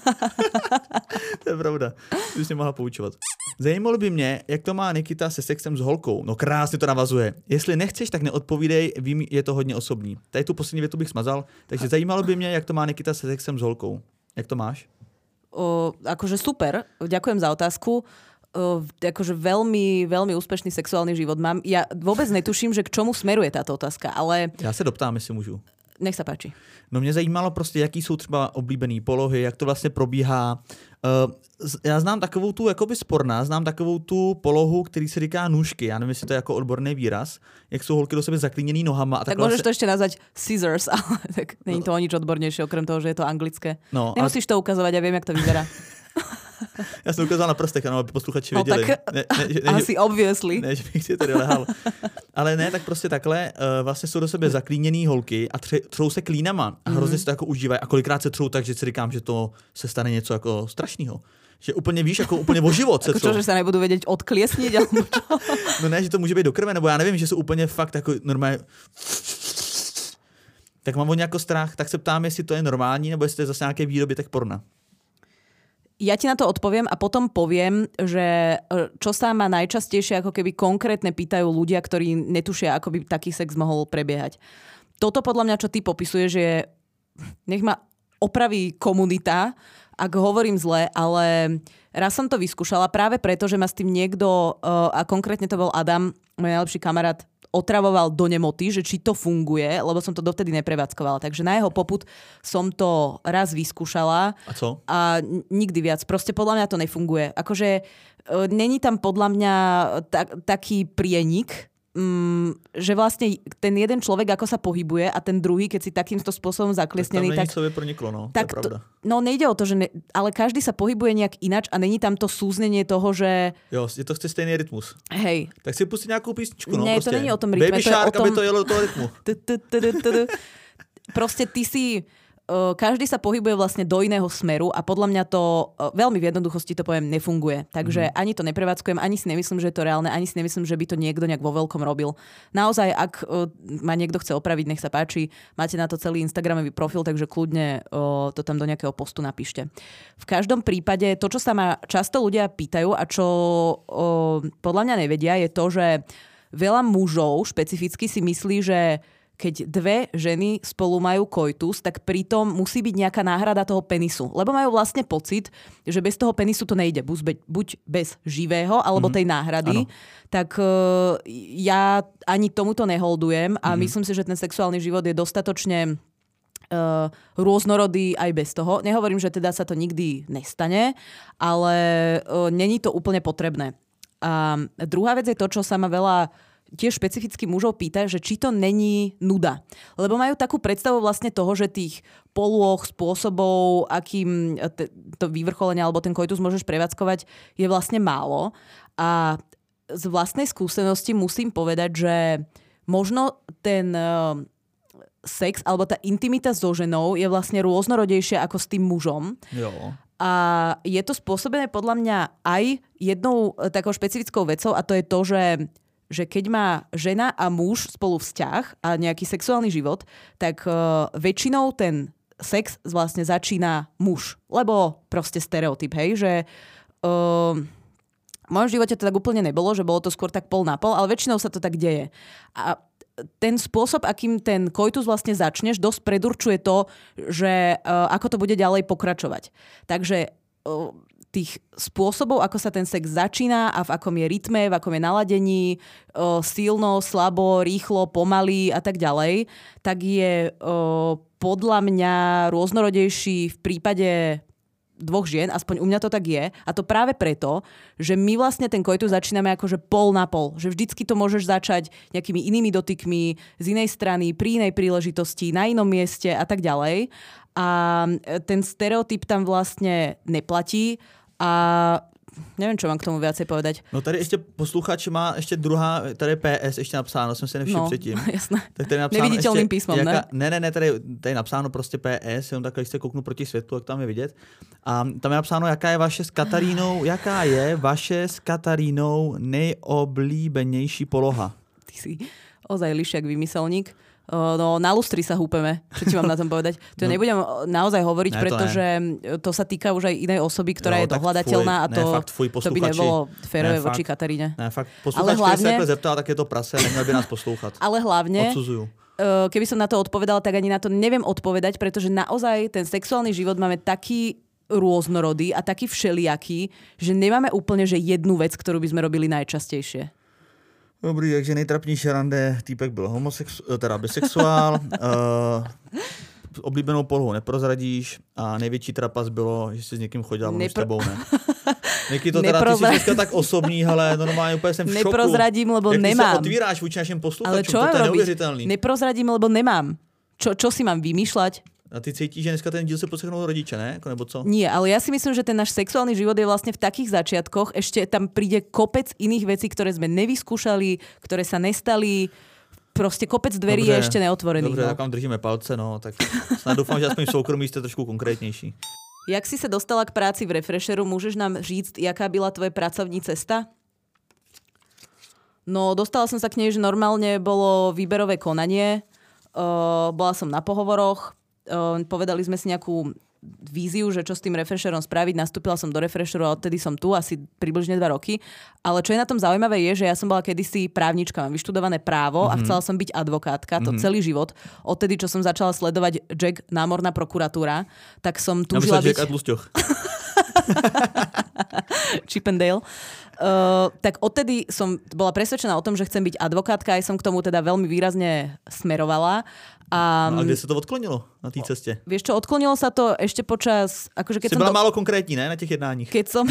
B: To je pravda. To bys mě mohla poučovat. Zajímalo by mě, jak to má Nikita se sexem s holkou. No krásně to navazuje. Jestli nechceš, tak neodpovídej, vím, je to hodně osobní. Tady tu poslední větu bych smazal. Takže zajímalo by mě, jak to má Nikita se sexem s holkou. Jak to máš?
A: O, akože super, ďakujem za otázku. Uh, akože veľmi, veľmi úspešný sexuálny život mám. Ja vôbec netuším, že k čomu smeruje táto otázka, ale...
B: Já se doptám, jestli můžu.
A: Nech sa páči.
B: No mě zajímalo prostě, jaký jsou třeba oblíbený polohy, jak to vlastně probíhá. Uh, já znám takovou tu, jakoby sporná, znám takovou tu polohu, který se říká nůžky. Já nevím, jestli to je jako odborný výraz. Jak jsou holky do sebe zaklíněný nohama. A
A: tak môžeš se... to ešte nazvať scissors, ale tak není to o nič odbornejšie, okrem toho, že je to anglické. No, nemusíš a... to ukazovať, ja viem, jak to vyzerá.
B: Já jsem ukázal na prstech, ano, aby posluchači
A: no,
B: věděli.
A: Tak, ne, ne, ne, asi obviously.
B: Ne, že bych si tady lehal. Ale ne, tak prostě takhle uh, vlastně jsou do sebe zaklíněný holky a tře, třou se klínama a hrozně mm-hmm. si to jako užívají. A kolikrát se třou tak, že si říkám, že to se stane něco jako strašného. Že úplně víš, jako úplně o život se
A: třou. Jako čo, že se nebudu vědět odkliesniť?
B: No ne, že to může být do krve, nebo já nevím, že jsou úplně fakt jako normálně... tak mám o nějaký strach, tak se ptám, jestli to je normální, nebo jestli to je zase nějaký výdobytek porna.
A: Ja ti na to odpoviem a potom poviem, že čo sa ma najčastejšie ako keby konkrétne pýtajú ľudia, ktorí netušia, ako by taký sex mohol prebiehať. Toto podľa mňa, čo ty popisuješ, je, nech ma opraví komunita, ak hovorím zle, ale raz som to vyskúšala práve preto, že ma s tým niekto, a konkrétne to bol Adam, môj najlepší kamarát, otravoval do nemoty, že či to funguje, lebo som to dovtedy neprevádzkovala. Takže na jeho popud som to raz vyskúšala.
B: A co?
A: A n- nikdy viac. Proste podľa mňa to nefunguje. Akože e, není tam podľa mňa ta- taký prienik, Mm, že vlastne ten jeden človek, ako sa pohybuje a ten druhý, keď si takýmto spôsobom zakliesnený,
B: tak... Tam
A: tak...
B: proniklo, no.
A: Tak
B: to je pravda.
A: To, no nejde o to, že ne, ale každý sa pohybuje nejak inač a není tam to súznenie toho, že...
B: Jo, je to chce stejný rytmus.
A: Hej.
B: Tak si pustí nejakú písničku, no.
A: Nie,
B: proste.
A: to není o tom rytme.
B: Baby
A: to
B: Shark,
A: je o tom...
B: aby to jelo do toho rytmu.
A: Proste ty si... Každý sa pohybuje vlastne do iného smeru a podľa mňa to veľmi v jednoduchosti to poviem nefunguje. Takže mm. ani to neprevádzkujem, ani si nemyslím, že je to reálne, ani si nemyslím, že by to niekto nejak vo veľkom robil. Naozaj, ak ma niekto chce opraviť, nech sa páči, máte na to celý Instagramový profil, takže kľudne to tam do nejakého postu napíšte. V každom prípade to, čo sa ma často ľudia pýtajú a čo podľa mňa nevedia, je to, že veľa mužov špecificky si myslí, že keď dve ženy spolu majú koitus, tak pritom musí byť nejaká náhrada toho penisu. Lebo majú vlastne pocit, že bez toho penisu to nejde. Buď bez živého, alebo tej náhrady. Mm-hmm. Tak uh, ja ani tomuto neholdujem a mm-hmm. myslím si, že ten sexuálny život je dostatočne uh, rôznorodý aj bez toho. Nehovorím, že teda sa to nikdy nestane, ale uh, není to úplne potrebné. A druhá vec je to, čo sa ma veľa tiež špecificky mužov pýta, že či to není nuda. Lebo majú takú predstavu vlastne toho, že tých polôch, spôsobov, akým to vyvrcholenie alebo ten koitus môžeš prevádzkovať, je vlastne málo. A z vlastnej skúsenosti musím povedať, že možno ten sex alebo tá intimita so ženou je vlastne rôznorodejšia ako s tým mužom.
B: Jo.
A: A je to spôsobené podľa mňa aj jednou takou špecifickou vecou a to je to, že že keď má žena a muž spolu vzťah a nejaký sexuálny život, tak uh, väčšinou ten sex vlastne začína muž. Lebo proste stereotyp, hej, že uh, v mojom živote to tak úplne nebolo, že bolo to skôr tak pol na pol, ale väčšinou sa to tak deje. A ten spôsob, akým ten koitus vlastne začneš, dosť predurčuje to, že uh, ako to bude ďalej pokračovať. Takže uh, tých spôsobov, ako sa ten sex začína a v akom je rytme, v akom je naladení, o, silno, slabo, rýchlo, pomaly a tak ďalej, tak je o, podľa mňa rôznorodejší v prípade dvoch žien, aspoň u mňa to tak je. A to práve preto, že my vlastne ten koitus začíname akože pol na pol. Že vždycky to môžeš začať nejakými inými dotykmi, z inej strany, pri inej príležitosti, na inom mieste a tak ďalej. A ten stereotyp tam vlastne neplatí. A neviem, čo mám k tomu viacej povedať.
B: No tady ještě posluchač má ještě druhá, tady je P S ještě napsáno, jsem si nevšiml
A: no,
B: předtím.
A: Jasné.
B: Tak tady je napsáno
A: neviditelným
B: ještě,
A: písmom,
B: jaká,
A: ne?
B: Ne, ne, ne, tady, tady je napsáno prostě P S, jenom takhle, když se kouknu proti světlu, jak tam je vidět. A tam je napsáno, jaká je vaše s Katarínou, jaká je vaše s Katarínou nejoblíbenější poloha.
A: Ty si ozaj lišiak vymyselník. No, na lustri sa húpeme, čo ti mám na tom povedať. To no, nebudem naozaj hovoriť, ne, pretože to, to sa týka už aj inej osoby, ktorá jo, je dohľadateľná a to,
B: ne, fakt, fuj,
A: to by nebolo férové voči Kataríne.
B: Ne, fakt, posluchačka hlavne, sa takhle zeptala, tak je to prase, neměl by nás poslúchať.
A: Ale hlavne,
B: odsudzujú.
A: Keby som na to odpovedala, tak ani na to neviem odpovedať, pretože naozaj ten sexuálny život máme taký rôznorodý a taký všelijaký, že nemáme úplne že jednu vec, ktorú by sme robili najčastejšie.
B: Dobrý, takže nejtrapnější rande, týpek byl homosexuál, teda bisexuál, uh, oblíbenou polohu neprozradíš a největší trapas bylo, že jsi s někým chodila, Nepro... s tebou ne. Někdy to teda, Neprozra... ty jsi dneska tak osobní, ale normálně úplně jsem v šoku.
A: Neprozradím, lebo
B: jak
A: nemám.
B: Jak ty se otvíráš vůči našim posluchačům,
A: ale čo
B: to je
A: robiť?
B: neuvěřitelný.
A: Neprozradím, lebo nemám. Čo, čo si mám vymýšľať?
B: A ty cítíš, že dneska ten díl se poslechnou rodiče, ne? Nebo co?
A: Nie, ale ja si myslím, že ten náš sexuálny život je vlastne v takých začiatkoch, ešte tam príde kopec iných vecí, ktoré sme nevyskúšali, ktoré sa nestali, proste kopec dverí je ešte neotvorených.
B: Dobře,
A: no.
B: tak vám držíme palce, no, tak snad doufám, že aspoň v soukromí jste trošku konkrétnější.
A: Jak si sa dostala k práci v Refresheru, môžeš nám říct, jaká byla tvoje pracovní cesta? No, dostala som sa k nej, že normálne bolo výberové konanie. Uh, bola som na pohovoroch, uh, povedali sme si nejakú víziu, že čo s tým refresherom spraviť. Nastúpila som do refresheru a odtedy som tu asi približne dva roky. Ale čo je na tom zaujímavé je, že ja som bola kedysi právnička, mám vyštudované právo mm-hmm. a chcela som byť advokátka, to mm-hmm. celý život. Odtedy, čo som začala sledovať Jack, námorná prokuratúra, tak som túžila byť...
B: Jack a Tlusťoch.
A: Chip and Dale. Uh, tak odtedy som bola presvedčená o tom, že chcem byť advokátka, aj som k tomu teda veľmi výrazne smerovala. A,
B: no a kde sa to odklonilo na tej ceste?
A: Vieš čo, odklonilo sa to ešte počas... Akože keď
B: si
A: som
B: bola
A: to...
B: málo konkrétní, ne, na těch jednáních?
A: Keď som...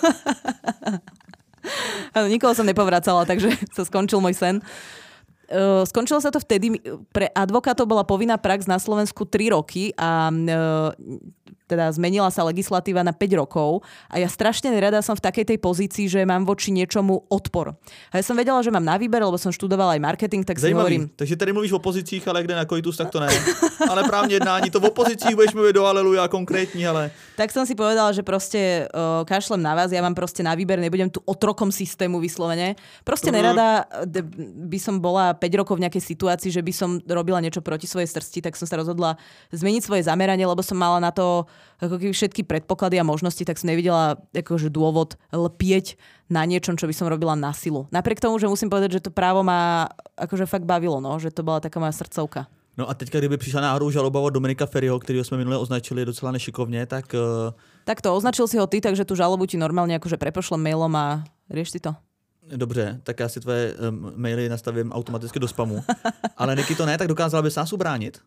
A: Nikoho som nepovracala, takže sa skončil môj sen. Uh, skončilo sa to vtedy, pre advokátov bola povinná prax na Slovensku tri roky a uh, teda zmenila sa legislatíva na päť rokov a ja strašne nerada som v takej tej pozícii, že mám voči niečomu odpor. A ja som vedela, že mám na výber, lebo som študovala aj marketing, tak si hovorím...
B: Takže tady mluvíš o pozicích, ale kde na koitus, tak to ne. Ale právne jednání, to v opozících budeš mluviť do aleluja konkrétní, ale...
A: Tak som si povedala, že proste uh, kašlem na vás, ja mám proste na výber, nebudem tu otrokom systému vyslovene. Proste nerada by som bola päť rokov v nejakej situácii, že by som robila niečo proti svojej srsti, tak som sa rozhodla zmeniť svoje zameranie, lebo som mala na to ako keby všetky predpoklady a možnosti, tak som nevidela akože dôvod lpieť na niečom, čo by som robila na silu. Napriek tomu, že musím povedať, že to právo ma akože fakt bavilo, no, že to bola taká moja srdcovka.
B: No a teďka, kdyby přišla náhodou žaloba od Dominika Ferryho, kterého jsme minule označili docela nešikovně, tak... Uh...
A: Tak to označil si ho ty, takže tu žalobu ti normálne akože prepošlem mailom a rieš si to.
B: Dobře, tak já si tvoje um, maily nastavím automaticky do spamu. Ale Niky to ne, tak dokázala bys nás ubránit?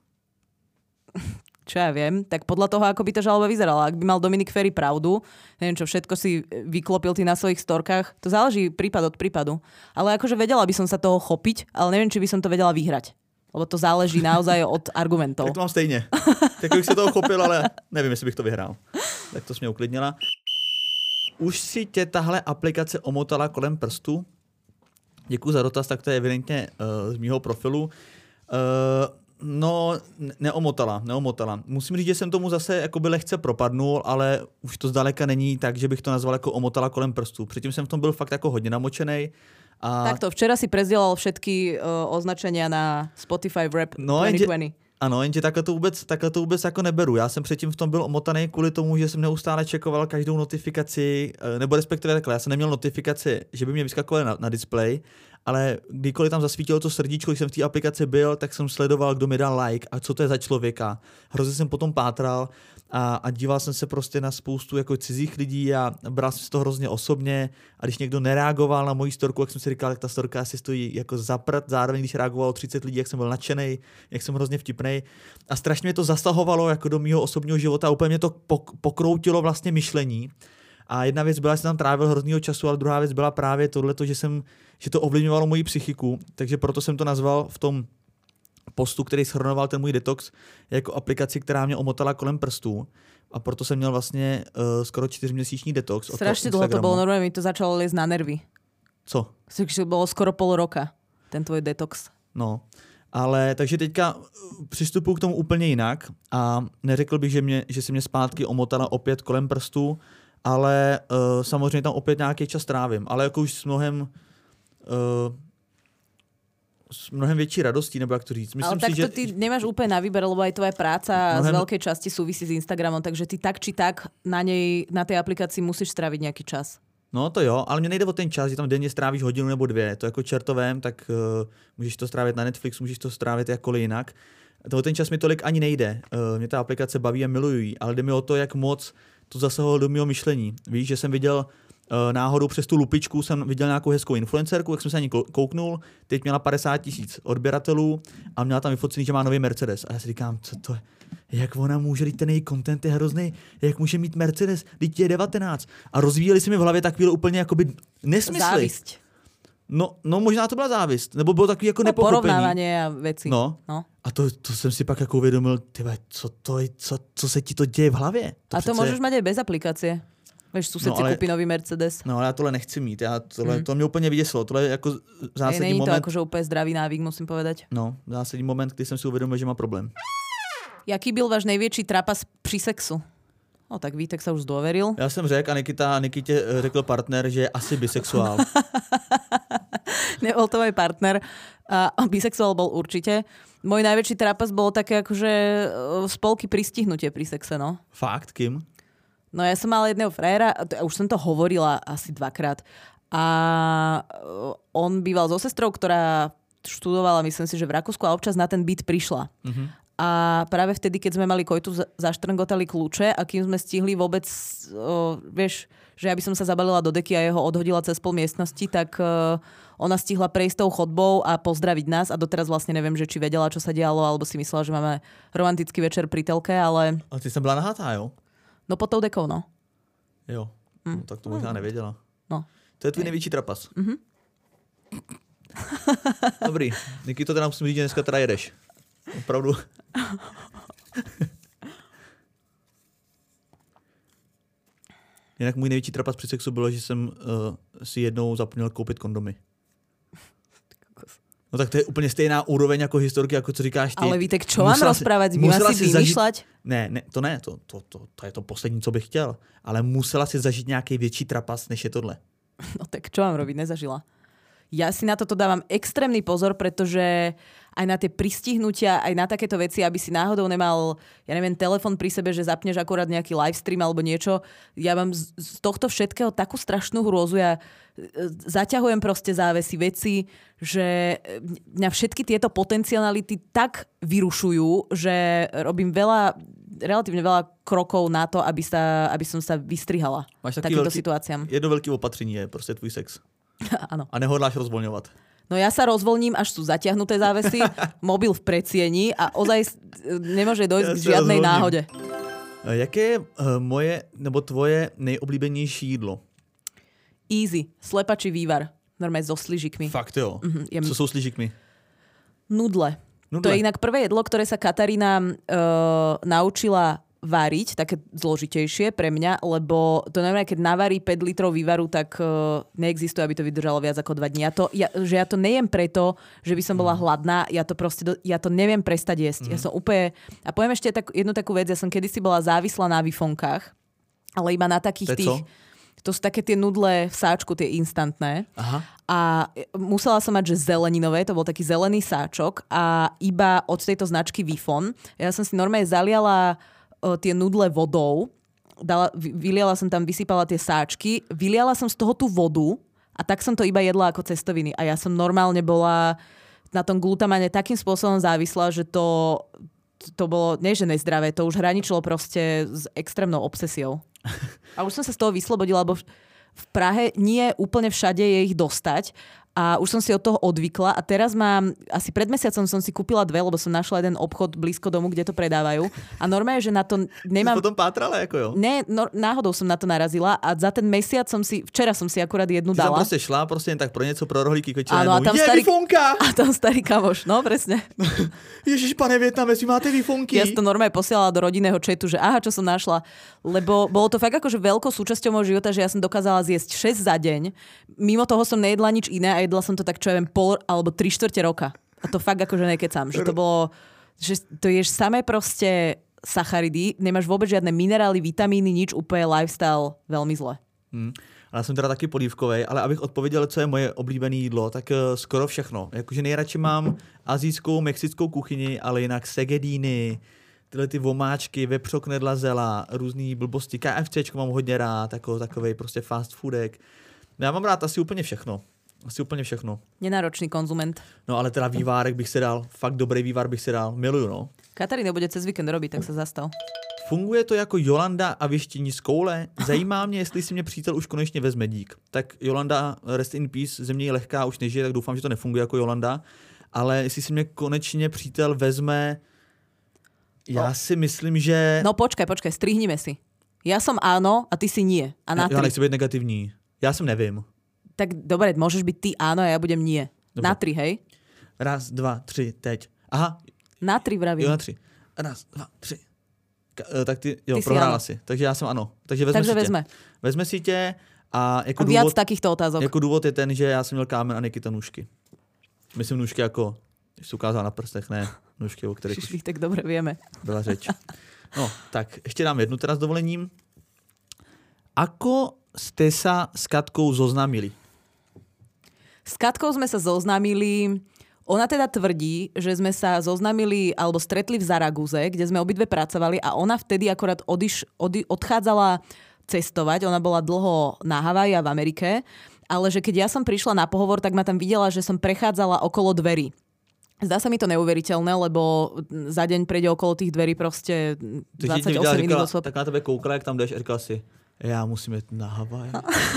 A: Čo ja viem, tak podľa toho, ako by tá žaloba vyzerala. Ak by mal Dominik Ferry pravdu, neviem čo, všetko si vyklopil ty na svojich storkách, to záleží prípad od prípadu. Ale akože vedela by som sa toho chopiť, ale neviem, či by som to vedela vyhrať. Lebo to záleží naozaj od argumentov.
B: Tak to mám stejně. Tak bych se toho chopil, ale nevím, jestli bych to vyhrál. Tak to jsi mě uklidnila. Už si tě tahle aplikace omotala kolem prstu? Děkuji za dotaz, tak to je evidentně uh, z mýho profilu. Uh, no, neomotala, neomotala. Musím říct, že jsem tomu zase jakoby lehce propadnul, ale už to zdaleka není tak, že bych to nazval jako omotala kolem prstu. Předtím jsem v tom byl fakt jako hodně namočenej. A...
A: Takto, včera si prezdielal všetky uh, označenia na Spotify Rap
B: no,
A: dvacet dvacet.
B: Ano, jenže takhle to, vůbec, takhle to vůbec jako neberu. Já jsem předtím v tom byl omotaný kvůli tomu, že jsem neustále čekoval každou notifikaci, nebo respektive takhle, já jsem neměl notifikaci, že by mě vyskakovaly na, na display, ale kdykoliv tam zasvítilo to srdíčko, když jsem v té aplikaci byl, tak jsem sledoval, kdo mi dal like a co to je za člověka. Hrozně jsem potom pátral a, a díval jsem se prostě na spoustu jako cizích lidí a bral jsem si to hrozně osobně a když někdo nereagoval na moji storku, jak jsem si říkal, jak ta storka asi stojí jako za prd, zároveň když reagovalo třicet lidí, jak jsem byl nadšenej, jak jsem hrozně vtipnej a strašně mě to zasahovalo jako do mýho osobního života a úplně mě to pokroutilo vlastně myšlení. A jedna věc byla, že jsem tam trávil hroznýho času, ale druhá věc byla právě tohleto, že jsem, že to ovlivňovalo moji psychiku, takže proto jsem to nazval v tom postu, který shrnoval ten můj detox, jako aplikaci, která mě omotala kolem prstů. A proto jsem měl vlastně uh, skoro čtyřměsíční detox.
A: Strašně dlouho to bylo, normálně mi to začalo lézt na nervy.
B: Co?
A: To bylo skoro pol roka, ten tvoj detox.
B: No, ale takže teďka přistupuji k tomu úplně jinak a neřekl bych, že, mě, že si mě zpátky omotala opět kolem prstů, ale uh, samozřejmě tam opět nějaký čas trávím, ale jako už s mnohem uh, s mnohem větší radostí, nebo jak to říct. Myslím
A: ale tak
B: si,
A: to
B: že...
A: ty nemáš úplne na výber, lebo aj tvoja práca mnohem... z veľkej časti súvisí s Instagramom, takže ty tak či tak na nej, na tej aplikácii musíš stráviť nejaký čas.
B: No to jo, ale mě nejde o ten čas, že tam denně strávíš hodinu nebo dvě. To jako čertovém, tak uh, můžeš to strávit na Netflix, můžeš to strávit jakkoliv jinak. To ten čas mi tolik ani nejde. Uh, mě ta aplikace baví a milují, ale jde mi o to, jak moc to zasahovalo do mého myšlení. Víš, že jsem viděl uh, náhodou přes tu lupičku, jsem viděl nějakou hezkou influencerku, jak jsem se na ní kouknul, teď měla padesát tisíc odběratelů a měla tam vyfocený, že má nový Mercedes. A já si říkám, co to je? Jak ona může, teď ten její content je hrozný, jak může mít Mercedes, teď je devatenáct. A rozvíjeli se mi v hlavě takový úplně jakoby nesmysly.
A: Závisť.
B: No, no možná to byla závist, nebo bylo takový jako
A: no,
B: nepochopení.
A: Porovnávanie a věci.
B: No. no. A to, to jsem si pak jako uvědomil, tyhle, co, to je, co, co se ti to děje v hlavě? To
A: a to
B: přece...
A: můžeš mít aj bez aplikácie. Víš, sused no, si ale... koupí nový Mercedes.
B: No ale já tohle nechci mít, já tohle, mm. to mě úplně vyděsilo, tohle je jako zásadní
A: Ej,
B: moment.
A: Není to akože úplně zdravý návyk, musím povedať.
B: No, zásadní moment, kdy jsem si uvědomil, že má problém.
A: Jaký byl váš největší trapas při sexu? No tak Vítek sa už zdôveril.
B: Já jsem řekl a Nikita, Nikitě řekl partner, že je asi bisexuál.
A: Nebol to môj partner. A bisexuál bol určite. Môj najväčší trápas bolo také akože spolky pristihnutie pri sexe, no.
B: Fakt? Kým?
A: No ja som mala jedného frajera, už som to hovorila asi dvakrát. A on býval so sestrou, ktorá študovala, myslím si, že v Rakúsku a občas na ten byt prišla. Uh-huh. A práve vtedy, keď sme mali kojtu, zaštrngotali kľúče a kým sme stihli vôbec, o, vieš, že ja by som sa zabalila do deky a jeho odhodila cez pol miestnosti, tak o, ona stihla prejsť tou chodbou a pozdraviť nás a doteraz vlastne neviem, že či vedela, čo sa dialo, alebo si myslela, že máme romantický večer pri telke, ale...
B: A ty sa bola nahatá, jo?
A: No pod tou dekou, no.
B: Jo, mm. no, tak to možná nevěděla.
A: No.
B: To je tvůj největší trapas.
A: Mm-hmm.
B: Dobrý, Niky, to teda musím říct, že dneska teda jedeš. Opravdu. Jinak můj největší trapas při sexu bylo, že jsem uh, si jednou zapomněl koupit kondomy. No tak to je úplně stejná úroveň jako historky, jako co říkáš ty.
A: Ale víte, čo mám rozprávať? Vy mám si vymýšľať?
B: Zažít... Ne, ne, to ne, to, to, to, to je to poslední, co bych chtěl. Ale musela si zažít nějaký větší trapas, než je tohle.
A: No tak čo mám robiť? Nezažila. Ja si na toto dávam extrémny pozor, pretože aj na tie pristihnutia, aj na takéto veci, aby si náhodou nemal, ja neviem, telefon pri sebe, že zapneš akurát nejaký livestream alebo niečo. Ja mám z, z tohto všetkého takú strašnú hrôzu. Ja zaťahujem proste závesy veci, že mňa všetky tieto potenciality tak vyrušujú, že robím veľa, relatívne veľa krokov na to, aby, sa, aby som sa vystrihala takýmto veľký, situáciám.
B: Jedno veľké opatření je proste tvůj sex.
A: Áno.
B: A nehodláš rozvoľňovať.
A: No ja sa rozvoľním, až sú zatiahnuté závesy, mobil v predsieni a ozaj nemôže dojsť ja k žiadnej rozvolním. Náhode.
B: Jaké je uh, moje nebo tvoje nejoblíbenější jídlo?
A: Easy. Slepačí vývar. Normálne so sližikmi.
B: Fakt jo? Mm-hmm, jem... Co sú sližikmi?
A: Nudle.
B: Nudle.
A: To je inak prvé jedlo, ktoré sa Katarína uh, naučila váriť, také zložitejšie pre mňa, lebo to neviem, keď navarí päť litrov vývaru, tak uh, neexistuje, aby to vydržalo viac ako dva dní. Ja to, ja, že ja to nejem preto, že by som bola hladná, ja to proste, do, ja to neviem prestať jesť. Mm. Ja som úplne... A poviem ešte tak, jednu takú vec, ja som kedysi bola závislá na výfonkách, ale iba na takých tých... To sú také tie nudle v sáčku, tie instantné. Aha. A musela som mať, že zeleninové, to bol taký zelený sáčok a iba od tejto značky Vifon. Ja som si normálne zaliala tie nudle vodou, dala, vyliala som tam, vysypala tie sáčky, vyliala som z toho tú vodu a tak som to iba jedla ako cestoviny. A ja som normálne bola na tom glutamane takým spôsobom závislá, že to, to bolo, nie že nezdravé, to už hraničilo proste s extrémnou obsesiou. A už som sa z toho vyslobodila, lebo v Prahe nie úplne všade je ich dostať. A už som si od toho odvykla a teraz mám, asi pred mesiacom som si kúpila dve, lebo som našla jeden obchod blízko domu, kde to predávajú. A normálne, že na to nemám...
B: Si potom pátrala, ako jo?
A: Ne, no, náhodou som na to narazila a za ten mesiac som si, včera som si akurát jednu
B: Ty
A: dala.
B: Ty som proste šla, proste pro niečo, pro rohlíky, keď
A: áno, a tam
B: je
A: starý...
B: Vifonka!
A: A tam starý kamoš, no presne.
B: Ježiš, pane Vietname, si máte Vifonky?
A: Ja som to normálne posielala do rodinného chatu, že aha, čo som našla. Lebo bolo to fakt akože veľkou súčasťou môjho života, že ja som dokázala zjesť šesť za deň. Mimo toho som nejedla nič iné a jedla som to tak, čo ja pol alebo tri štvrte roka. A to fakt akože nekecam. Že to bolo, že to ješ samé proste sacharidy, nemáš vôbec žiadne minerály, vitamíny, nič, úplne lifestyle veľmi zle.
B: Hmm. A já jsem teda taky polívkovej, ale abych odpověděl, co je moje oblíbené jídlo, tak uh, skoro všechno. Jakože nejradši mám azijskou, mexickou kuchyni, ale jinak segedíny, tyhle ty vomáčky, vepřoknedla zela, různý blbosti, KFCčko mám hodně rád, jako takovej prostě fast foodek. Já mám rád asi úplně všechno. Asi úplně všechno.
A: Nenáročný konzument.
B: No ale teda vývárek bych si dal, fakt dobrý vývar bych si dal, miluju, no.
A: Katarína bude cez víkend robiť, tak sa zastal.
B: Funguje to jako Jolanda a věštění z koule? Zajímá mě, jestli si mě přítel už konečně vezme, dík. Tak Jolanda, rest in peace, země je lehká, už nežije, tak doufám, že to nefunguje jako Jolanda. Ale jestli si mě konečně přítel vezme, já no. si myslím, že...
A: No počkaj, počkaj, strihnime si. Ja som áno a ty si nie. A na
B: ja, ja nechci být negativní. Já jsem nevím.
A: Tak dobre, môžeš byť ty áno a ja budem nie. Dobre. Na tri, hej?
B: Raz, dva, tři, teď. Aha.
A: Na tri vravím.
B: Jo, na tři. Raz, dva, tři. Ka- tak ty, jo, ty prohrála si, si. Takže já jsem ano. Takže vezme
A: Takže
B: si
A: vezme.
B: tě. Vezme si tě a jako
A: a viac
B: důvod,
A: takýchto otázok.
B: Jako důvod je ten, že já jsem měl kámen a Nikita nůžky. Myslím nůžky jako, když jsi ukázal na prstech, ne nůžky, o kterých
A: už tak dobre vieme.
B: Byla řeč. No, tak ještě dám jednu teda s dovolením. Ako ste sa s Katkou zoznámili?
A: S Katkou sme sa zoznámili, ona teda tvrdí, že sme sa zoznámili alebo stretli v Zaraguze, kde sme obidve pracovali a ona vtedy akorát odiš, odi, odchádzala cestovať, ona bola dlho na Havaji a v Amerike, ale že keď ja som prišla na pohovor, tak ma tam videla, že som prechádzala okolo dverí. Zdá sa mi to neuveriteľné, lebo za deň prejde okolo tých dverí proste dvadsaťosem minút osôb.
B: Tak na tebe koukla, jak tam jdeš a říkala si, ja musím jít na Havaj.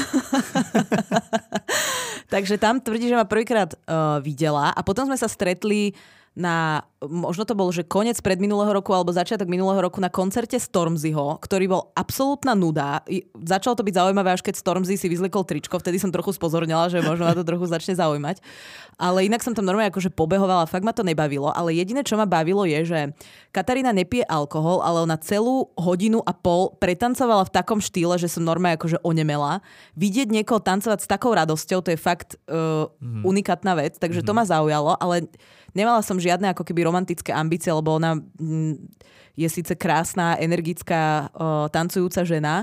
A: Takže tam tvrdí, že ma prvýkrát uh, videla a potom sme sa stretli na, možno to bol, že koniec predminulého roku alebo začiatok minulého roku na koncerte Stormzyho, ktorý bol absolútna nuda. Začalo to byť zaujímavé, až keď Stormzy si vyzlikol tričko, vtedy som trochu spozornila, že možno ma to trochu začne zaujímať. Ale inak som tam normálne akože pobehovala, fakt ma to nebavilo, ale jediné, čo ma bavilo je, že Katarína nepije alkohol, ale ona celú hodinu a pol pretancovala v takom štýle, že som normálne akože onemela. Vidieť niekoho tancovať s takou radosťou, to je fakt uh, mm. unikátna vec, takže mm. to ma zaujalo, ale nemala som žiadne ako keby romantické ambície, lebo ona mm, je síce krásna, energická, uh, tancujúca žena,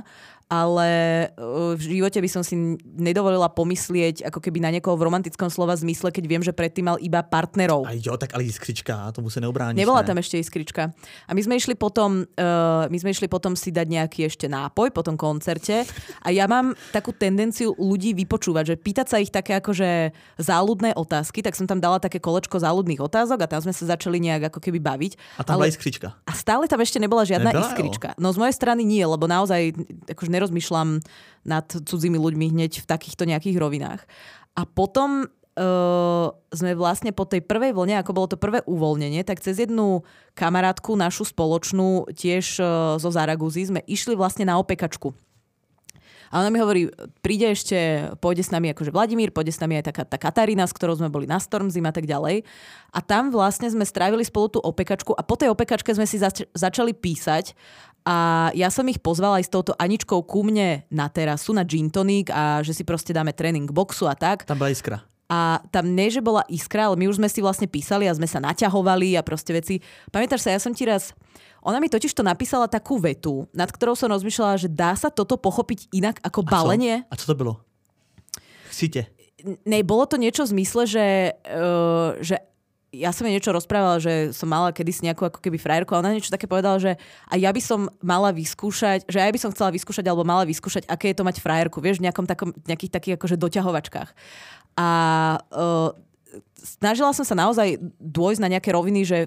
A: ale uh, v živote by som si nedovolila pomyslieť ako keby na niekoho v romantickom slova zmysle, keď viem, že predtým mal iba partnerov.
B: A jo, tak ale iskrička, tomu sa neobrániš.
A: Nebola
B: ne?
A: tam ešte iskrička. A my sme išli potom, uh, my sme išli potom si dať nejaký ešte nápoj po tom koncerte a ja mám takú tendenciu ľudí vypočúvať, že pýtať sa ich také akože záľudné otázky, tak som tam dala také kolečko záľudných otázok a tam sme sa začali nejak ako keby baviť.
B: A tam ale... bola iskrička.
A: A stále tam ešte nebola žiadna Nebyla, iskrička. Jo. No z mojej strany nie, lebo naozaj akože nerozmýšľam nad cudzými ľuďmi hneď v takýchto nejakých rovinách. A potom uh, sme vlastne po tej prvej vlne, ako bolo to prvé uvoľnenie, tak cez jednu kamarátku našu spoločnú, tiež uh, zo Zaraguzy, sme išli vlastne na opekačku. A ona mi hovorí, príde ešte, pôjde s nami akože Vladimír, pôjde s nami aj taká tá Katarína, s ktorou sme boli na Stormzym a tak ďalej. A tam vlastne sme strávili spolu tú opekačku a po tej opekačke sme si zač- začali písať. A ja som ich pozvala aj s touto Aničkou ku mne na terasu, na gin tonic a že si proste dáme tréning boxu a tak.
B: Tam bola iskra.
A: A tam nie, že bola iskra, ale my už sme si vlastne písali a sme sa naťahovali a proste veci. Pamätáš sa, ja som ti raz... Ona mi totiž to napísala takú vetu, nad ktorou som rozmýšľala, že dá sa toto pochopiť inak ako balenie.
B: A co, a co to bylo? Chcite?
A: Ne, bolo to niečo v zmysle, že... Uh, že ja som jej niečo rozprávala, že som mala kedysi nejakú ako keby frajerku a ona niečo také povedala, že a ja by som mala vyskúšať, že ja by som chcela vyskúšať alebo mala vyskúšať, aké je to mať frajerku, vieš, v nejakom takom, nejakých takých akože doťahovačkách. A uh, snažila som sa naozaj dôjsť na nejaké roviny, že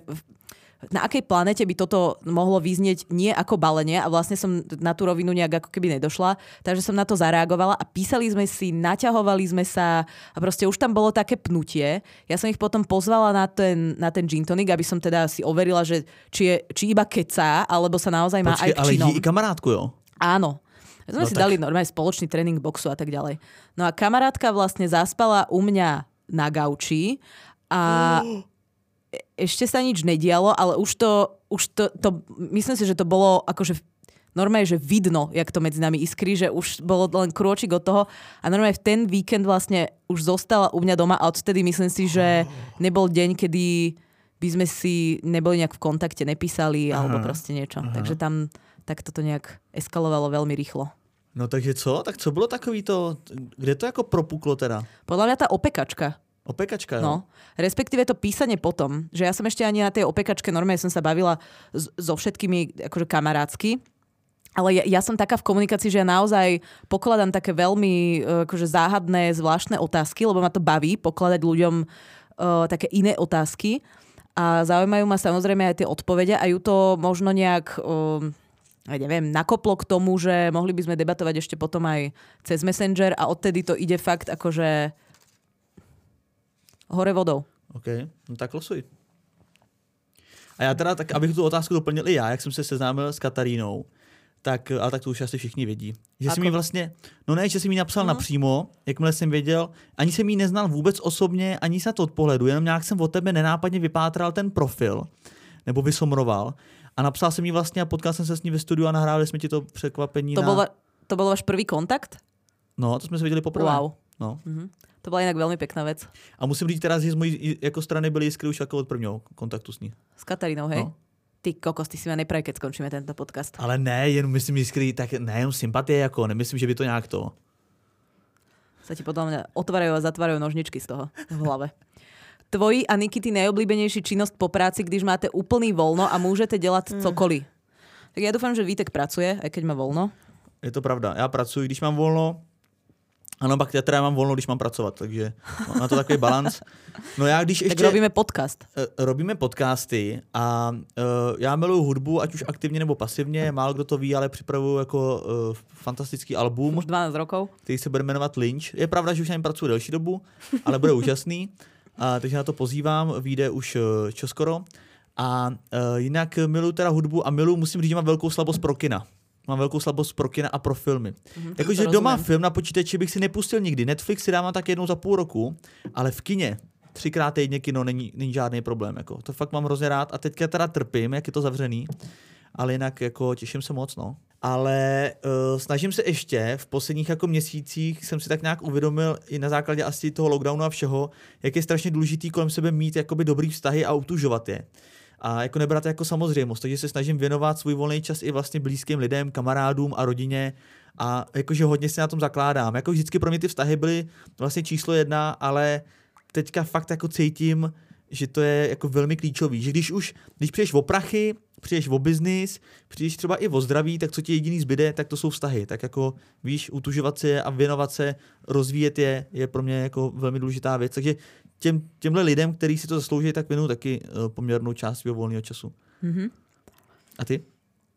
A: na akej planete by toto mohlo vyznieť nie ako balenie a vlastne som na tú rovinu nejak ako keby nedošla, takže som na to zareagovala a písali sme si, naťahovali sme sa a proste už tam bolo také pnutie. Ja som ich potom pozvala na ten, na ten gin tonic, aby som teda si overila, že či, je, či iba kecá, alebo sa naozaj má Počkej, aj k činom.
B: Ale i kamarátku, jo?
A: Áno. My sme no si tak... dali normálne spoločný tréning boxu a tak ďalej. No a kamarátka vlastne zaspala u mňa na gauči a ešte sa nič nedialo, ale už to, už to, to, myslím si, že to bolo akože normálne, že vidno, jak to medzi nami iskrí, že už bolo len krôčik od toho a normálne v ten víkend vlastne už zostala u mňa doma a odtedy myslím si, že nebol deň, kedy by sme si neboli nejak v kontakte, nepísali aha, alebo proste niečo. Aha. Takže tam tak toto nejak eskalovalo veľmi rýchlo.
B: No takže co? Tak co bylo takový to, kde to jako propuklo teda?
A: Podľa mňa tá opekačka.
B: Opekačka, jo?
A: No, respektíve to písanie potom, že ja som ešte ani na tej opekačke normálne som sa bavila s, so všetkými akože kamarátsky, ale ja, ja som taká v komunikácii, že ja naozaj pokladám také veľmi akože záhadné, zvláštne otázky, lebo ma to baví pokladať ľuďom uh, také iné otázky a zaujímajú ma samozrejme aj tie odpovede a ju to možno nejak... Uh, ja neviem, nakoplo k tomu, že mohli by sme debatovať ešte potom aj cez Messenger a odtedy to ide fakt akože hore vodou.
B: OK, no tak losuj. A já teda, tak abych tu otázku doplnil i já, jak jsem se seznámil s Katarínou, tak, ale tak to už asi všichni vědí. Že jsi mi vlastně, no ne, že jsi mi napsal mm. napřímo, jakmile jsem věděl, ani jsem jí neznal vůbec osobně, ani se to od pohledu, jenom nějak jsem od tebe nenápadně vypátral ten profil, nebo vysomroval. A napsal jsem jí vlastně a potkal jsem se s ní ve studiu a nahrávali jsme ti to překvapení.
A: To,
B: na...
A: bol, to bol váš prvý kontakt?
B: No, to jsme se viděli poprvé.
A: Wow.
B: No.
A: Mm-hmm. To bola inak veľmi pekná vec.
B: A musím říct teraz, že z mojej jako strany byli iskry už ako od prvního kontaktu s ní.
A: S Katarínou, hej?
B: No.
A: Ty kokos, ty si ma nepraví, keď skončíme tento podcast.
B: Ale ne, jen myslím iskry, tak nejen sympatie, jako nemyslím, že by to nějak to.
A: Sa ti podľa mňa otvárajú a zatvárajú nožničky z toho v hlave. Tvoji a Nikity najobľúbenejší činnosť po práci, když máte úplný voľno a môžete dělat mm. cokoliv. Tak ja dúfam, že Vítek pracuje, aj keď má voľno.
B: Je to pravda. Já pracuji, když mám volno. Ano, pak já teda mám volno, když mám pracovat, takže mám na to takový balans. No já když ještě...
A: Tak robíme podcast.
B: Robíme podcasty a uh, já miluju hudbu, ať už aktivně nebo pasivně, málo kdo to ví, ale připravuju jako uh, fantastický album.
A: Už dvanásť rokov.
B: Který se bude jmenovat Lynch. Je pravda, že už na něm pracuji delší dobu, ale bude úžasný. A takže na to pozývám, vyjde už uh, čoskoro. A uh, jinak miluju teda hudbu a miluju, musím říct, že mám velkou slabost pro kina. Mám velkou slabost pro kina a pro filmy. Mm-hmm, Jakože doma film na počítači bych si nepustil nikdy. Netflix si dávám tak jednou za půl roku, ale v kině třikrát týdně kino není, není žádný problém. Jako. To fakt mám hrozně rád a teďka teda trpím, jak je to zavřený, ale jinak jako těším se moc, no. Ale uh, snažím se ještě, v posledních jako měsících jsem si tak nějak uvědomil i na základě asi toho lockdownu a všeho, jak je strašně důležitý kolem sebe mít jakoby dobrý vztahy a utužovat je. A jako nebrat jako samozřejmost, takže se snažím věnovat svůj volný čas i vlastně blízkým lidem, kamarádům a rodině a jakože hodně se na tom zakládám. Jako vždycky pro mě ty vztahy byly vlastně číslo jedna, ale teďka fakt jako cítím, že to je jako velmi klíčový, že když už, když přijdeš o prachy, přijdeš o biznis, přijdeš třeba i o zdraví, tak co ti jediný zbyde, tak to jsou vztahy. Tak jako víš, utužovat se a věnovat se, rozvíjet je, je pro mě jako velmi důležitá věc. Takže těm, těmhle lidem, kteří si to zaslouží, tak věnuju taky uh, poměrnou část svého volného času. Mm-hmm. A ty?